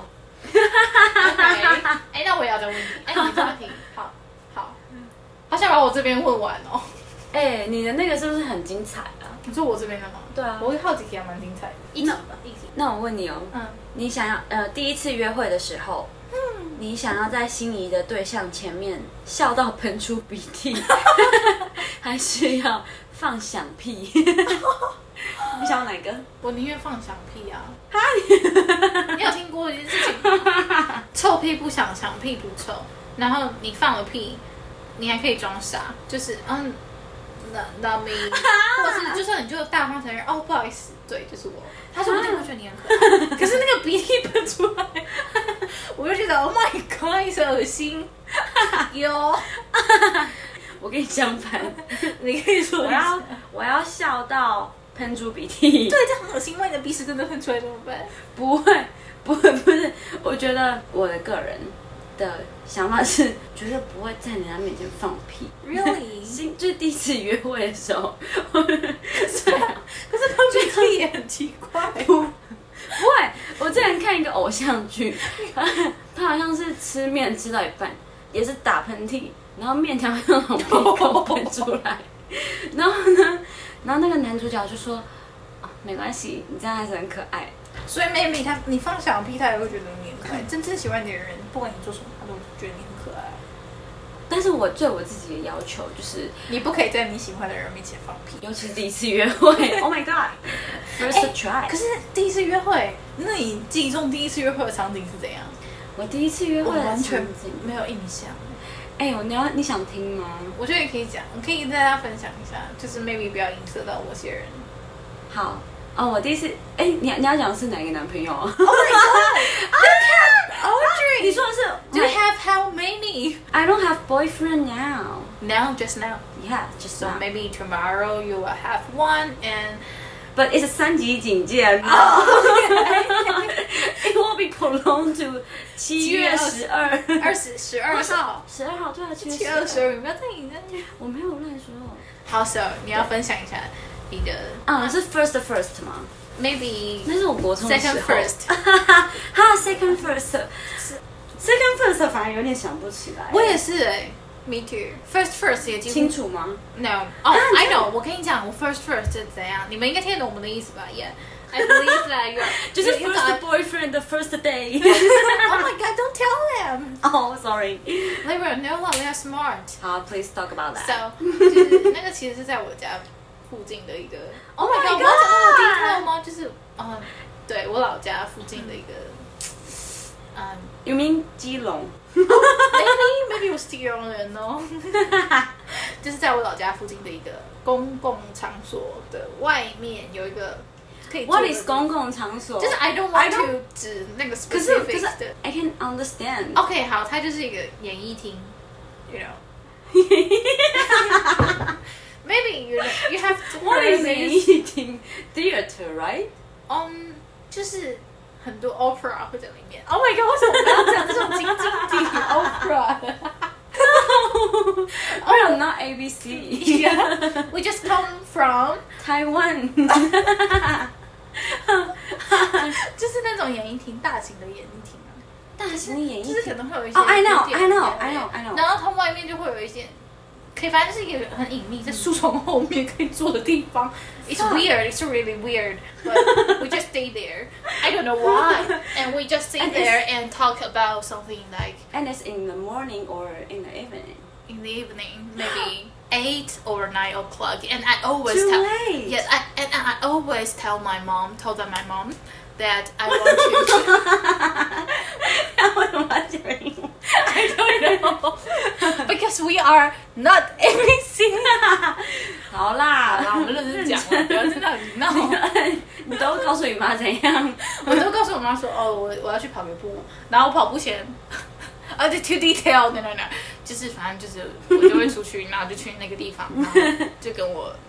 OK， 哎，那我也要再问一题。哎，你这问题，好，好，好想把我这边问完哦。 哎，你的那个是不是很精彩啊？ 你说我这边的吗？ 对啊我会好几题还蛮精彩的。一题吧，一题。 那我问你哦， 嗯， 你想要呃第一次约会的时候，嗯，你想要在心仪的对象前面笑到喷出鼻涕，还是要放响屁？你想要哪个？ 我宁愿放响屁啊！你有听过一件事情吗？臭屁不响，响屁不臭。然后你放了屁，你还可以装傻，就是嗯。Not, not me， 或是就算你就大方承认哦，不好意思，对，就是我。他说不定会觉得你很可爱，可是那个鼻涕喷出来，我就觉得 Oh my God， 是恶心。有， 我跟你相反， 你可以说我要我要笑到喷出鼻涕。 对，这很恶心，万一你的鼻屎真的喷出来怎么办？ 不会，不会，不是。我觉得我的个人的想法是，绝对不会在人家面前放屁。 Really？ 就是第一次约会的时候， 对啊，可是放鼻涕也很奇怪。 不，不会。我之前看一个偶像剧，他好像是吃面吃到一半，也是打喷嚏，然后面条从鼻孔喷出来，然后呢，然后那个男主角就说：“哦，没关系，你这样还是很可爱。” 所以妹妹她，你放响屁，她也会觉得你很可爱。真正喜欢你的人，不管你做什么，她都觉得你很可爱。 但是我对我自己的要求就是， 你不可以在你喜欢的人面前放屁， 尤其是第一次约会。Oh my god，first try。 可是第一次约会，那你记忆中第一次约会的场景是怎样？ 我第一次约会的完全场景没有印象。 哎、欸，你要你想听吗？ 我觉得你可以讲，我可以跟大家分享一下，就是 maybe 不要影射到某些人。 好。哦，我第一次，哎，你你要讲的是哪一个男朋友啊 ？Oh my god! Audrey， 你说的是 ？Do you have how many? I don't have boyfriend now. Now, just now. Yeah, just so now. maybe tomorrow you will have one, and but it's 三级警戒。Oh, it will be prolonged to 七月十二， 二十十二号， 十二号对啊， 七月二十二，你不要再引战去。 我没有乱说。 好 ，So 你要分享一下。你的啊是 first first 吗 ？Maybe 那是我国中的时候 second first， 哈 second first，second first 反而有点想不起来。 我也是哎、欸、，me too。First first 也清楚吗 ？No， 哦、oh, ，I know。我跟你讲，我 first first 是怎样，你们应该听得懂我们的意思吧 ？Yeah，I believe that you are 就是 first boyfriend the first day。 Oh my god， don't tell them。 Oh sorry。 They were no one, they are smart。 好 ，please talk about that。 So， 就是那个其实是在我家附近的一个 ，Oh my god， 我要讲那么低调吗？就是嗯，对我老家附近的一个，嗯 ，You mean 基隆 ？Maybe maybe 我是基隆人哦，就是在我老家附近的一个公共场所的外面有一个可以。 What is 公共场所？ 就是 I don't want to 指那个 specific 的。 I can understand。 OK， 好，它就是一个演艺厅 ，you know。Maybe you you have to What is eating theater, right? Um， 就是很多 opera 会在里面。Oh my god， 为什么不要讲这种晶晶体 opera？ Oh, not A B C. Yeah, we just come from Taiwan. 就是那种演艺厅，大型的演艺厅啊。 大型的演艺厅， 就是可能会有一些。 哦 ，I know, I know, I know, I know。 然后它外面就会有一些。可以，反正就是一个很隐秘，在树丛后面可以坐的地方。It's weird. It's really weird. But we just stay there. I don't know why. And we just sit and there and talk about something like. And it's in the morning or in the evening. In the evening, maybe eight or nine o'clock. And I always Too tell. late. Yes, I, and I always tell my mom. Told my mom that I want to. 为什么要讲英文 I don't know. Because we are not A B C. 好啦， 好啦，我们认真讲了，不要在那里闹。 你都告诉你妈怎样？ 我都告诉我妈说，哦，我我要去跑个步，然后我跑步前，啊，就 too detail， no no no，就是反正就是我就会出去，然后就去那个地方，然后就跟我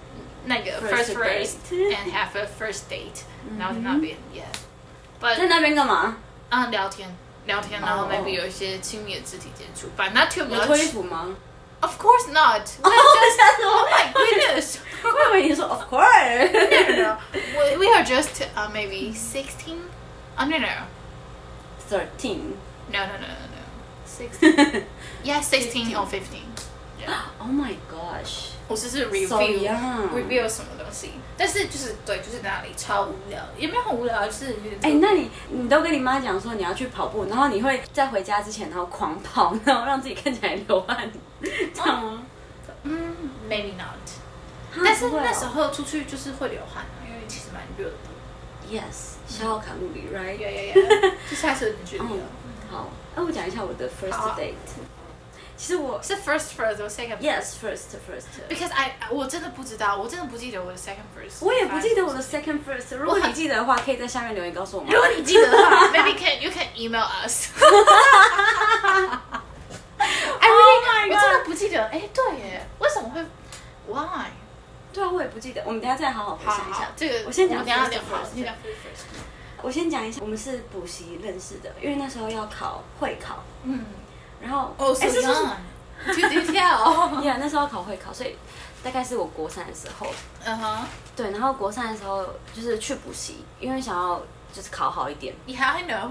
那个 First first first date and have a first date，然后在那边 yeah，but 在那边干嘛？ 啊聊天聊天，然后哦 maybe 有一些亲密的肢体接触，but not too 有脱衣 much。 服吗？ Of course not. 哦，吓死我 Oh my goodness. 我以为你说 of course。 No, no, no. We, we are just uh, maybe sixteen. Uh, no, no. Thirteen. No, no, no, no, no. Sixteen. Yeah, sixteen or fifteen. Yeah. Oh my gosh. 我只是 So review young. review 什么东西，但是就是对，就是在那里超无聊，也没有很无聊，就是有点。 哎、那你你都跟你妈讲说你要去跑步，然后你会在回家之前然后狂跑，然后让自己看起来流汗，这样吗？ 嗯，maybe not。 哈但是不会哦那时候出去就是会流汗啊，因为其实蛮热的。 Yes，消耗卡路里 ，right？ 呀呀呀，就下次有点距离了。 好，那我讲一下我的 first 好啊 date。其实我是 first first or second yes first first。 because I 我真的不知道，我真的不记得我的 second first。 我也不记得我的 second first。如果你记得的话，可以在下面留言告诉我们。 如果你记得的话，maybe can you can email us。I really， 我真的不记得。哎，对耶，为什么会 ？Why？ 对啊，我也不记得。我们等一下再好好回好想一下好。，这个我先讲我们等一下 first 聊好， first 先讲 first first。 我先讲一下，我们是补习认识的，因为那时候要考会考， 嗯， 然后哦，so 哎是是是 young，too detail。 yeah，那时候要考会考，所以大概是我国三的时候， 嗯哼对，然后国三的时候就是去补习，因为想要就是考好一点。 ，Yeah I know。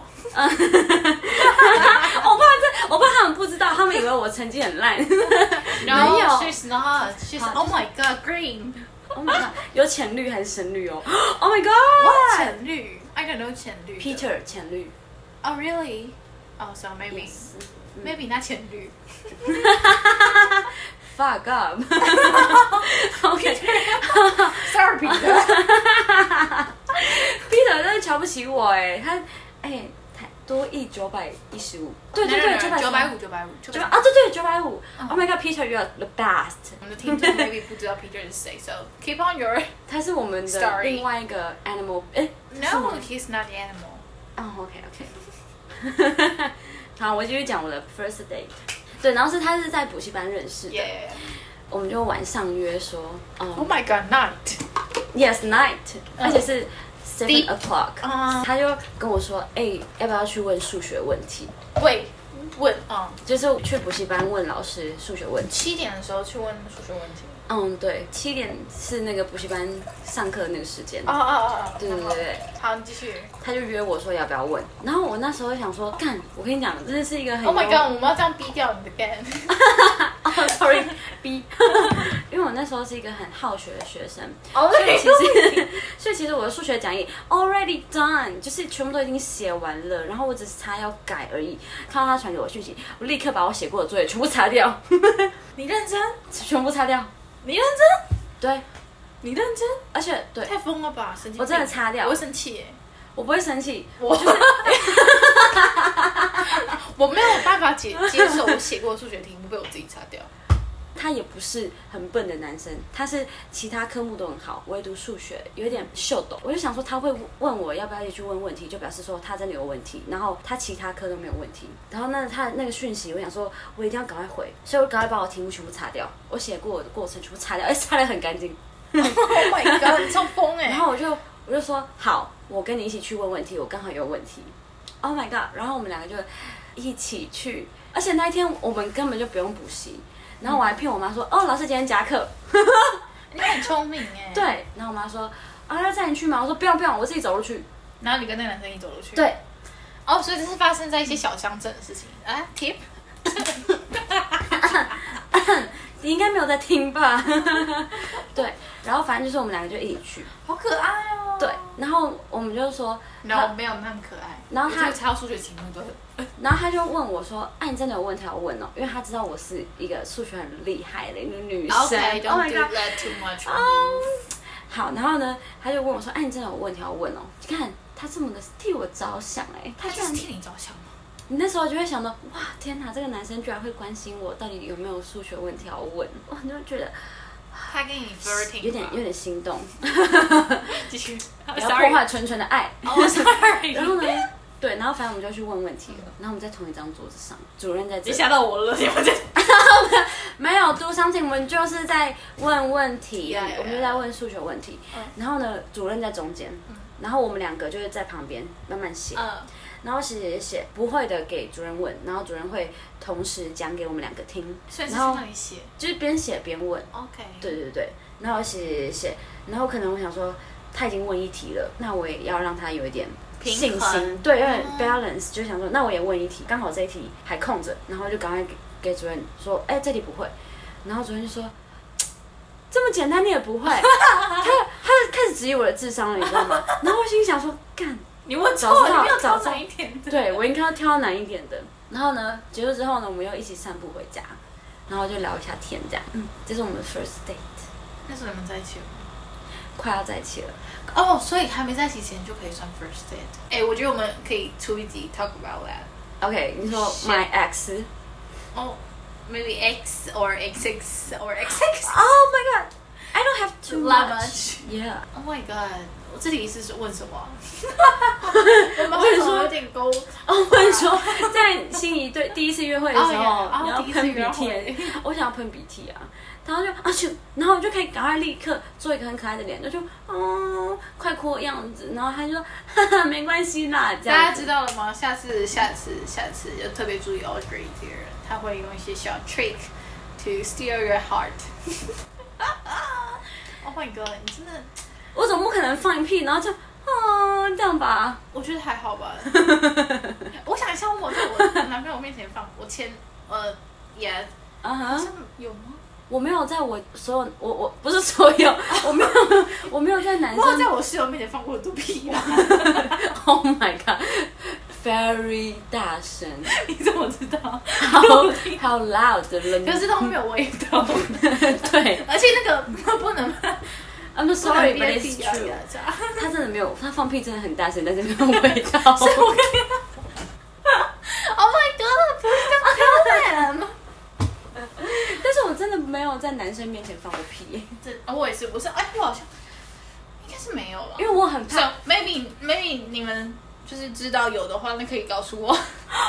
我怕这，我怕他们不知道，他们以为我成绩很烂。没 No, 有 she's not. She's 好 oh my god, green. Oh my god，有浅绿还是深绿哦 ？Oh my god， 浅绿 I don't know 浅绿的。 Peter 浅绿 Oh really? Oh, so maybe Yes maybe 那浅绿。 ，fuck up。OK， Sorry, Peter. Peter 真的瞧不起我哎，他哎台多亿九百一十五，对对对， 九九百百五，九百五，九百五。 九百啊，对对，九百五。Oh my god，Peter，you are the best。 我们的听众 maybe 不知道 Peter 是谁，so keep on your. 他是我们的 Story 另外一个 animal，哎 No, he's not the animal. 哦 OK OK。好，我继续讲我的 first date。对，然后是他是在补习班认识的 Yeah. 我们就晚上约说，嗯 Oh my god, night. ，yes night，而且是 seven Deep o'clock， 啊他就跟我说，哎，要不要去问数学问题？ 喂，问啊， 就是去补习班问老师数学问题。 七点的时候去问数学问题。 嗯，对，七点是那个补习班上课的那个时间。 哦哦哦哦。 对对对对， 好，你继续。 他就约我说要不要问，然后我那时候就想说，干，我跟你讲，真的是一个很 Oh my 幽 god，我们要这样逼掉你的 gan。 哦，sorry B，因为我那时候是一个很好学的学生， 哦， 所以其实，所以其实我的数学讲义 already done，就是全部都已经写完了，然后我只是差要改而已。看到他传给我讯息，我立刻把我写过的作业全部擦掉， 你认真？ 全部擦掉。 你认真？ 对， 你认真？ 而且对， 太疯了吧！神经病！ 我真的擦掉我会生气耶。 我不会生气， 我就是我没有办法接接受我写过的数学题目被我自己擦掉。 他也不是很笨的男生，他是其他科目都很好，唯独数学有点秀逗。我就想说他会问我要不要一起去问问题，就表示说他真的有问题，然后他其他科都没有问题。然后那他那个讯息，我想说我一定要赶快回，所以我赶快把我题目全部擦掉，我写过的过程全部擦掉，哎，擦得很干净。 Oh my god， 你超疯哎！ 然后我就我就说好，我跟你一起去问问题，我刚好有问题。Oh my god！ 然后我们两个就一起去，而且那一天我们根本就不用补习。然后我还骗我妈说，哦，老师今天加课。 你很聪明哎。 对，然后我妈说，啊，要载你去吗？我说不用不用，我自己走路去。 然后你跟那个男生一起走路去。 对。 哦，所以这是发生在一些小乡镇的事情啊 ？Tip。 你应该没有在听吧？对，然后反正就是我们两个就一起去。 好可爱哦。 对，然后我们就说， 然后没有那么可爱。 然后他猜到数学题目都。 然后他就问我说：“哎、啊，你真的有问题要问哦？因为他知道我是一个数学很厉害的一个女生。 Okay, don't Oh my do god. that too much. Um, 好，然后呢，他就问我说：“哎、啊，你真的有问题要问哦？你看他这么的替我着想、哎， 他居然就是替你着想吗？ 你那时候就会想到，哇，天哪，这个男生居然会关心我，到底有没有数学问题要问？哇，你就觉得他跟你 flirting， 有点有点心动。 继续， 不要破坏纯纯的爱。 哦，sorry。 然后呢？” 对，然后反正我们就去问问题了，然后我们在同一张桌子上，主任在这里， 你吓到我了，你们在没有 do something， 我们就是在问问题， yeah, yeah, yeah. 我们就在问数学问题，嗯、然后呢，主任在中间，嗯、然后我们两个就是在旁边慢慢写，嗯、然后写写写，不会的给主任问，然后主任会同时讲给我们两个听， 所以是去那里写， 就是边写边问 ，OK， 对对对，然后写写写，然后可能我想说他已经问一题了，那我也要让他有一点。信心对，有点 balance，、嗯、就想说，那我也问一题，刚好这一题还空着，然后就赶快给给主任说，哎、欸，这题不会，然后主任就说，这么简单你也不会，他他开始质疑我的智商了，你知道吗？然后我心想说，干， 你问早知道你要早知道难一点的， 对我应该要挑难一点的。然后呢，结束之后呢，我们又一起散步回家，然后就聊一下天，这样，嗯，这是我们的 first date。 那时候你们在一起了吗？ 快要在一起了。 哦， oh, 所以还没在一起前就可以算 first date。哎、欸，我觉得我们可以出一集 talk about that。OK， 你说 my ex。 哦、oh, ，maybe X or X X or X X。 Oh my god, I don't have too much. Yeah. Oh my god， 我这题是问什么？我们为什么有点勾？ 哦，我跟你说，在心仪对第一次约会的时候， oh, yeah. 你要喷鼻涕，我想要喷鼻涕啊。然后就啊去，然后我就可以赶快立刻做一个很可爱的脸，就就哦快哭的样子，然后他就说哈哈没关系啦，这样。 大家知道了吗？下次下次下次就特别注意 Audrey 这个人，他会用一些小 trick to steal your heart 。Oh my god， 你真的， 我总不可能放一屁，然后就哦这样吧？ 我觉得还好吧。我想一下，我在我男朋友面前放，我前呃也啊哈有吗？ 我没有在我所有我我不是所有，我没有我没有在男生。 我有在我室友面前放过肚皮啦。 Oh my god，very 大声。 你怎么知道？ 好好 loud 的人。 可是都没有味道。 对。 而且那个不能。 I'm sorry, but it's true。他真的没有，他放屁真的很大声，但是没有味道。 所以我跟你。Oh my god， 不是这样漂亮。 但是我真的没有在男生面前放过屁。 这、哦、我也是，不是，哎，我好像应该是没有了， 因为我很怕。 So, maybe maybe 你们就是知道有的话，那可以告诉我。Oh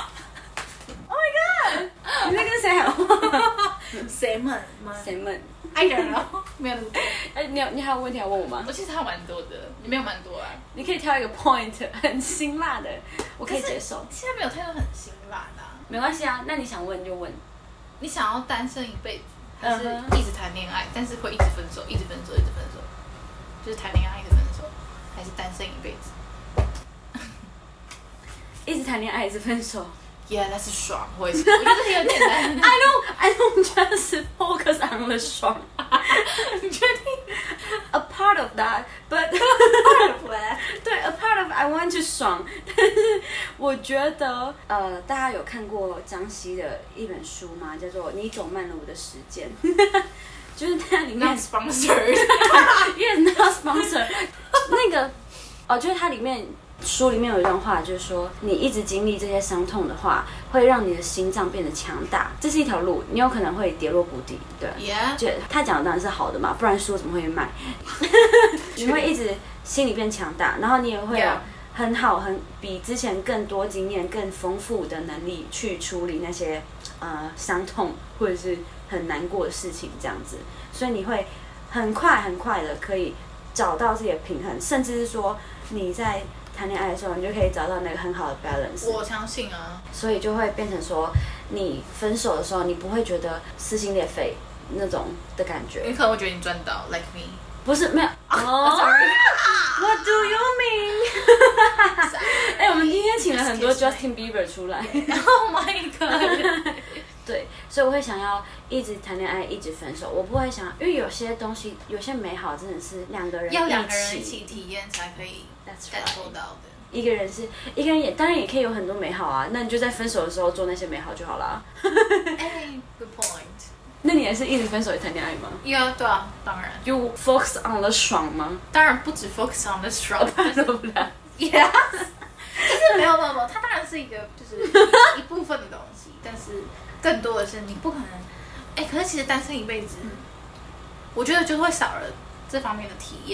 my god！ 你在跟谁喊话？ 谁们？ 谁们 ？I don't know， 没有那么多。 哎，你有你还有问题要问我吗？ 我其实还有蛮多的，你没有蛮多啊。 你可以挑一个 point， 很辛辣的，我可以接受。 现在没有太多很辛辣的、啊。 没关系啊，那你想问就问。 你想要单身一辈子，还是一直谈恋爱， uh-huh. 但是会一直分手，一直分手，一直分手？就是谈恋爱一直分手，还是单身一辈子？ 一直谈恋爱一直分手 ？Yeah， 那是爽，我也是，我觉得有点难。 I don't, I don't just focus on the 爽。 你确定 ？A part of that, but part of that， 对 ，a part of I want to 爽。但是我觉得，呃，大家有看过张希的一本书吗？叫做《你走慢了我的时间》。就是它里面 not sponsored， yes not sponsored。那个哦，就是它里面。书里面有一段话，就是说，你一直经历这些伤痛的话，会让你的心脏变得强大。这是一条路，你有可能会跌落谷底，对。 Yeah。 就他讲的当然是好的嘛，不然书怎么会卖？你会一直心里变强大，然后你也会有很好、很比之前更多经验、更丰富的能力去处理那些呃伤痛或者是很难过的事情，这样子。所以你会很快很快的可以找到自己的平衡，甚至是说你在谈恋爱的时候，你就可以找到那个很好的 balance。 我相信啊，所以就会变成说，你分手的时候，你不会觉得撕心裂肺那种的感觉。 你可能会觉得你赚到 ，like me。 不是没有哦、oh, ，What do you mean？ 哎、欸，我们今天请了很多 Justin Bieber 出来。 Oh my god！ 对，所以我会想要一直谈恋爱，一直分手。我不会想，因为有些东西，有些美好真的是两个人要两个人一起体验才可以。 That's right。 感受到的。 一个人是一个人也当然也可以有很多美好啊，那你就在分手的时候做那些美好就好啦。 哎 ，good point。 那你也是一直分手也谈恋爱吗？ 有、yeah, 对啊，当然。 You focus on the 爽吗？ 当然不止 focus on the 爽， 不然。 Yes。就是没有没有没有，它当然是一个就是一, 一部分的东西，但是更多的是你不可能。哎，可是其实单身一辈子，嗯、我觉得就会少了这方面的体验。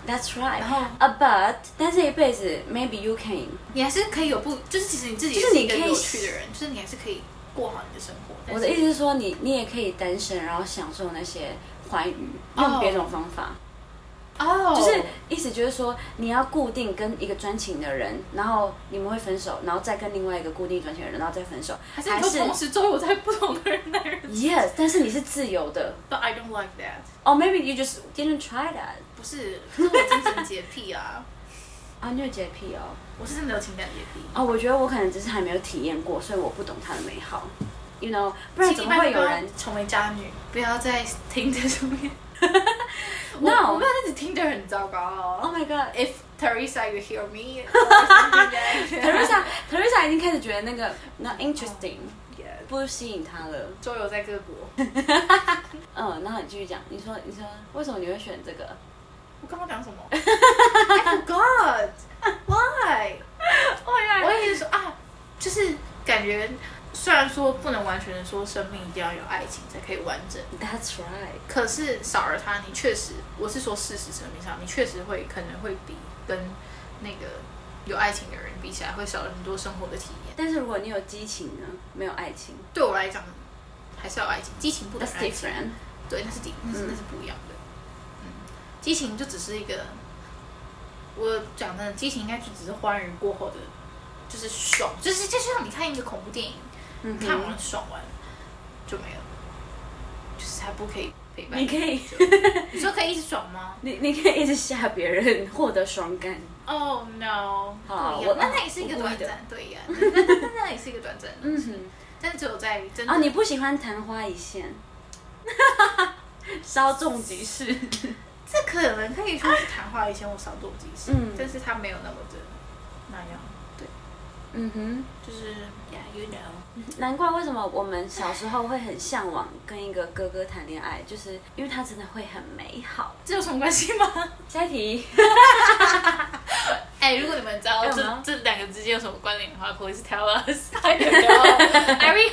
That's right. 然后 Uh, but 但是一辈子 maybe you can， 你还是可以有不，就是其实你自己就是你可以是一个有趣的人，就是你还是可以过好你的生活。 我的意思是说你，你也可以单身，然后享受那些欢愉，用别种方法。 哦， 就是意思就是说，你要固定跟一个专情的人，然后你们会分手，然后再跟另外一个固定专情的人，然后再分手， 还是你都同时周游在不同的人那人。 Yes， 但是你是自由的。 But I don't like that. Or maybe you just didn't try that. 不是，可是我精神洁癖啊。 啊，你有洁癖哦？ 我是真的有情感洁癖。 哦，我觉得我可能只是还没有体验过，所以我不懂它的美好。You know， 不然怎么会有人成为渣女？不要再听这上面。 No， 我, 我没有在听的很糟糕哦。 Oh my god！ If Teresa you hear me ，Teresa Teresa 已经开始觉得那个那 interesting， 不吸引她了。 周游在各国。 嗯，然后你继续讲，你说你说为什么你会选这个？ 我刚刚讲什么 ？I forgot. Why? 我也是说啊，就是感觉。虽然说不能完全的说生命一定要有爱情才可以完整 ，That's right。 可是少了它，你确实，我是说事实层面上，你确实会可能会比跟那个有爱情的人比起来，会少了很多生活的体验。 但是如果你有激情呢，没有爱情， 对我来讲还是要爱情，激情不等于爱情。 That's different。 对，那是第那是、嗯、那是不一样的。嗯，激情就只是一个，我讲的激情应该就只是欢愉过后的，就是爽，就是就像你看一个恐怖电影。嗯、看完爽完就没有，就是还不可以陪伴。 你可以， 你说可以一直爽吗？ 你你可以一直吓别人，获得爽感。 Oh no！ 好， 我那那也是一个短暂，对呀，那那那那也是一个短暂的。嗯哼，但是只有在真的啊，你不喜欢昙花一现，稍纵即逝。 这可能可以说是昙花一现或稍纵即逝，嗯，但是它没有那么的那样。嗯哼，就是 yeah you know， 难怪为什么我们小时候会很向往跟一个哥哥谈恋爱，就是因为他真的会很美好。 这有什么关系吗？ 下一题。 哎、欸，如果你们知道这这两个之间有什么关联的话 ，please tell us. I don't know. Ari,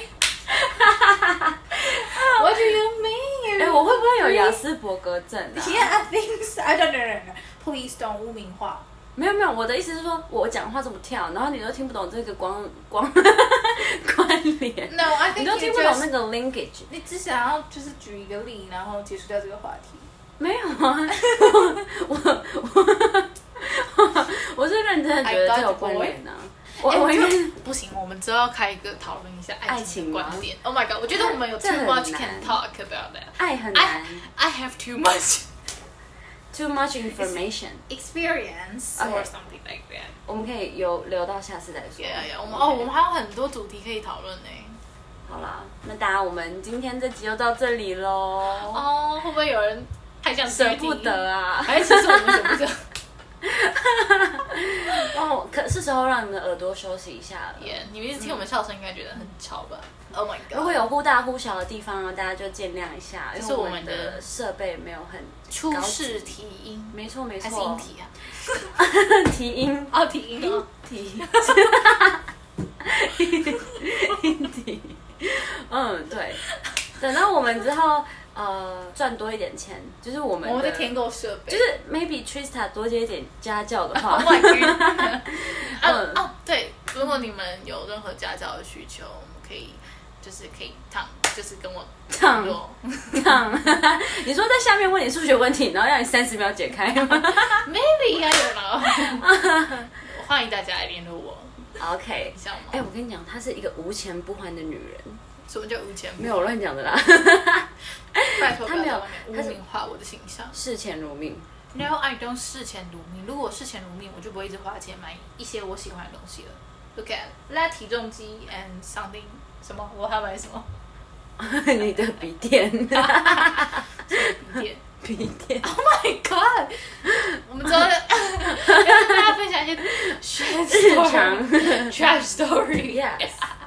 what do you mean? 哎、欸，我会不会有雅斯伯格症啊 ？Yeah, I think so. I don't know. Please don't 污名化。 没有没有，我的意思是说，我讲话这么跳，然后你都听不懂这个光光关联。 No, I think 你都听不懂那个 linkage。 你只想要就是举一个例，然后结束掉这个话题。 没有啊，我我我我是认真的觉得这有关联啊。我我因为不行，我们之后要开一个讨论一下爱情的观点。Oh my god， 我觉得我们有 too much can talk about that。 爱很难。 I, I have too much. Too much information, experience, or okay. something like that. 我们可以有留到下次再说。 Yeah, yeah. 我们、okay. 哦，我们还有很多主题可以讨论呢。 好啦，那大家我们今天这集就到这里喽。 哦，会不会有人还想舍不得啊？ 还是其实我们舍不得？ 哦，可是时候让你们的耳朵休息一下了。 Yeah, 你们一直听我们笑声，应该觉得很吵吧？ Oh my god！ 如果有忽大忽小的地方呢，大家就见谅一下， 因为我们的设备没有很初试提音， 没错没错， 还是音体啊？ 提音哦，提音哦， 提，音体，嗯，对。等到我们之后。呃，赚多一点钱，就是我们我们在添购设备， 就是 maybe Trista 多接一点家教的话。 Oh my god！ 嗯哦，对，如果你们有任何家教的需求，我们可以就是可以烫，就是跟我烫烫。你说在下面问你数学问题，然后让你三十秒解开吗 ？Maybe I don't know 。欢迎大家来联络我。 OK， 像吗？ 哎、欸，我跟你讲，她是一个无钱不还的女人。 什么叫无钱不还？ 没有乱讲的啦。 拜托， 他没有污名化我的形象。 视钱如命。 No, I don't 视钱如命。如果视钱如命，我就不会一直花钱买一些我喜欢的东西了。Look at 拉体重机 and something 什么？我还要买什么？ 你的笔电。 笔电。 笔电。 Oh my god！ 我们之后要跟大家分享一些 trash story。 trash story。Yes。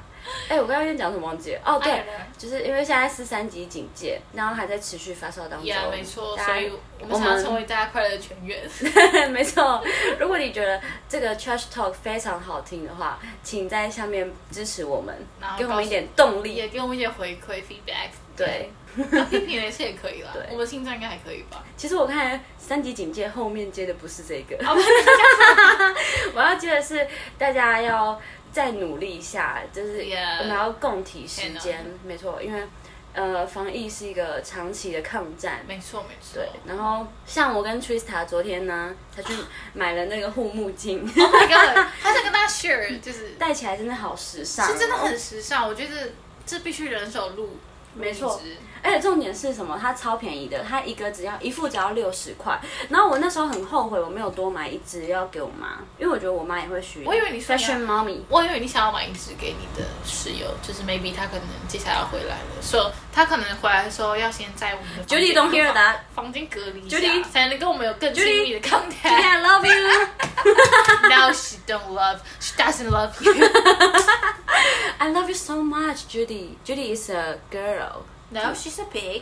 哎、我刚刚跟你讲什么忘记了？哦，对 I don't know 就是因为现在是三级警戒，然后还在持续发烧当中。 Yeah， 没错， 大家所以我们想要成为大家快乐的泉源。 没错，如果你觉得这个 Trash Talk 非常好听的话，请在下面支持我们然，后给我们一点动力。 也给我们一些回馈 feedback。 对， 那批评也是也可以啦。 对我们心脏应该还可以吧？ 其实我看三级警戒后面接的不是这个， 哦我要接的是大家要再努力一下，就是 Yeah 我们要共体时天间，没错，因为呃防疫是一个长期的抗战。 没错没错。 对，然后像我跟 Trista 昨天呢，才去买了那个护目镜， Oh my god！好想跟大家 share，就是戴起来真的好时尚哦， 是真的很时尚，我觉得这必须人手录。 没错录一支， 而且重点是什么？它超便宜的，它一个只要一副只要六十块。然后我那时候很后悔，我没有多买一支要给我妈，因为我觉得我妈也会需要。 我以为你说你要 Fashion Mommy， 我以为你想要买一支给你的室友，就是 maybe 他可能接下来要回来了，所以他可能回来的时候要先在我们的房间 Judy don't hear that 房间隔离一下 Judy 才能跟我们有更亲密的 contact。 I love you No, she don't love. She doesn't love you. I love you so much, Judy. Judy is a girl. No, she's a pig.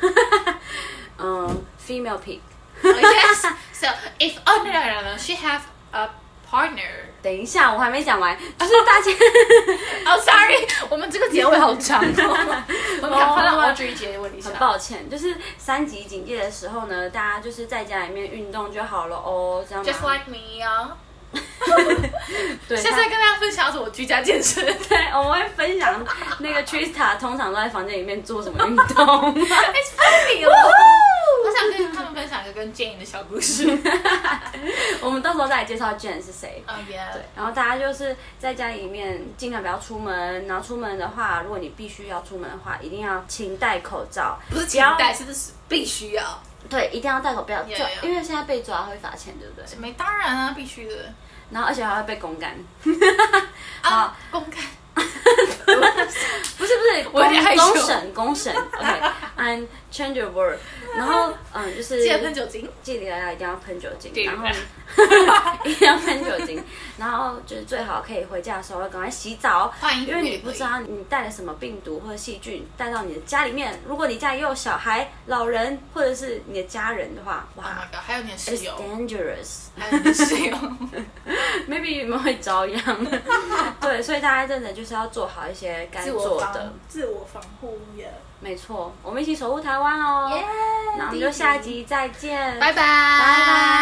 嗯、female pig. Oh, yes. So if oh no no no no, she have a partner. 等一下，我还没讲完，就是大家 Oh sorry，我们这个结尾好长哦。我们赶快让 Audrey 结尾一下很。抱歉，就是三级警戒的时候呢，大家就是在家里面运动就好了哦，这样吗 Just like me 啊。 对， 现在跟大家分享是我居家健身。 对，我们会分享那个 Trista 通常都在房间里面做什么运动。 It's funny 哦。我想跟他们分享一个跟 Jane 的小故事。 我们到时候再来介绍 Jane 是谁。 Oh yeah。 对，然后大家就是在家里面尽量不要出门，然后出门的话，如果你必须要出门的话，一定要勤戴口罩， 不是请戴，是是必须要。 对，一定要戴口罩， Yeah, 就 yeah. 因为现在被抓会罚钱，对不对？ 没，当然啊，必须的。 然后而且还会被公干。 啊，公开。 不是不是， 我有点害羞公公审公审 ，OK，and change your word， 然后嗯就是记得喷酒精， 记得一定要喷酒精， 对然后一定要喷酒精，然后就是最好可以回家的时候要赶快洗澡， 换衣服因为你也可以不知道你带了什么病毒或者细菌带到你的家里面，如果你家里有小孩、老人或者是你的家人的话， Oh 哇 my god，还有你的室 ，it's 友， dangerous。 还有你的室友。 maybe 你们会遭殃，对，所以大家真的就是要做好一些该自我防做的， 自我防护呀。 没错，我们一起守护台湾哦。 耶那我们就下集再见， 拜拜， 拜拜。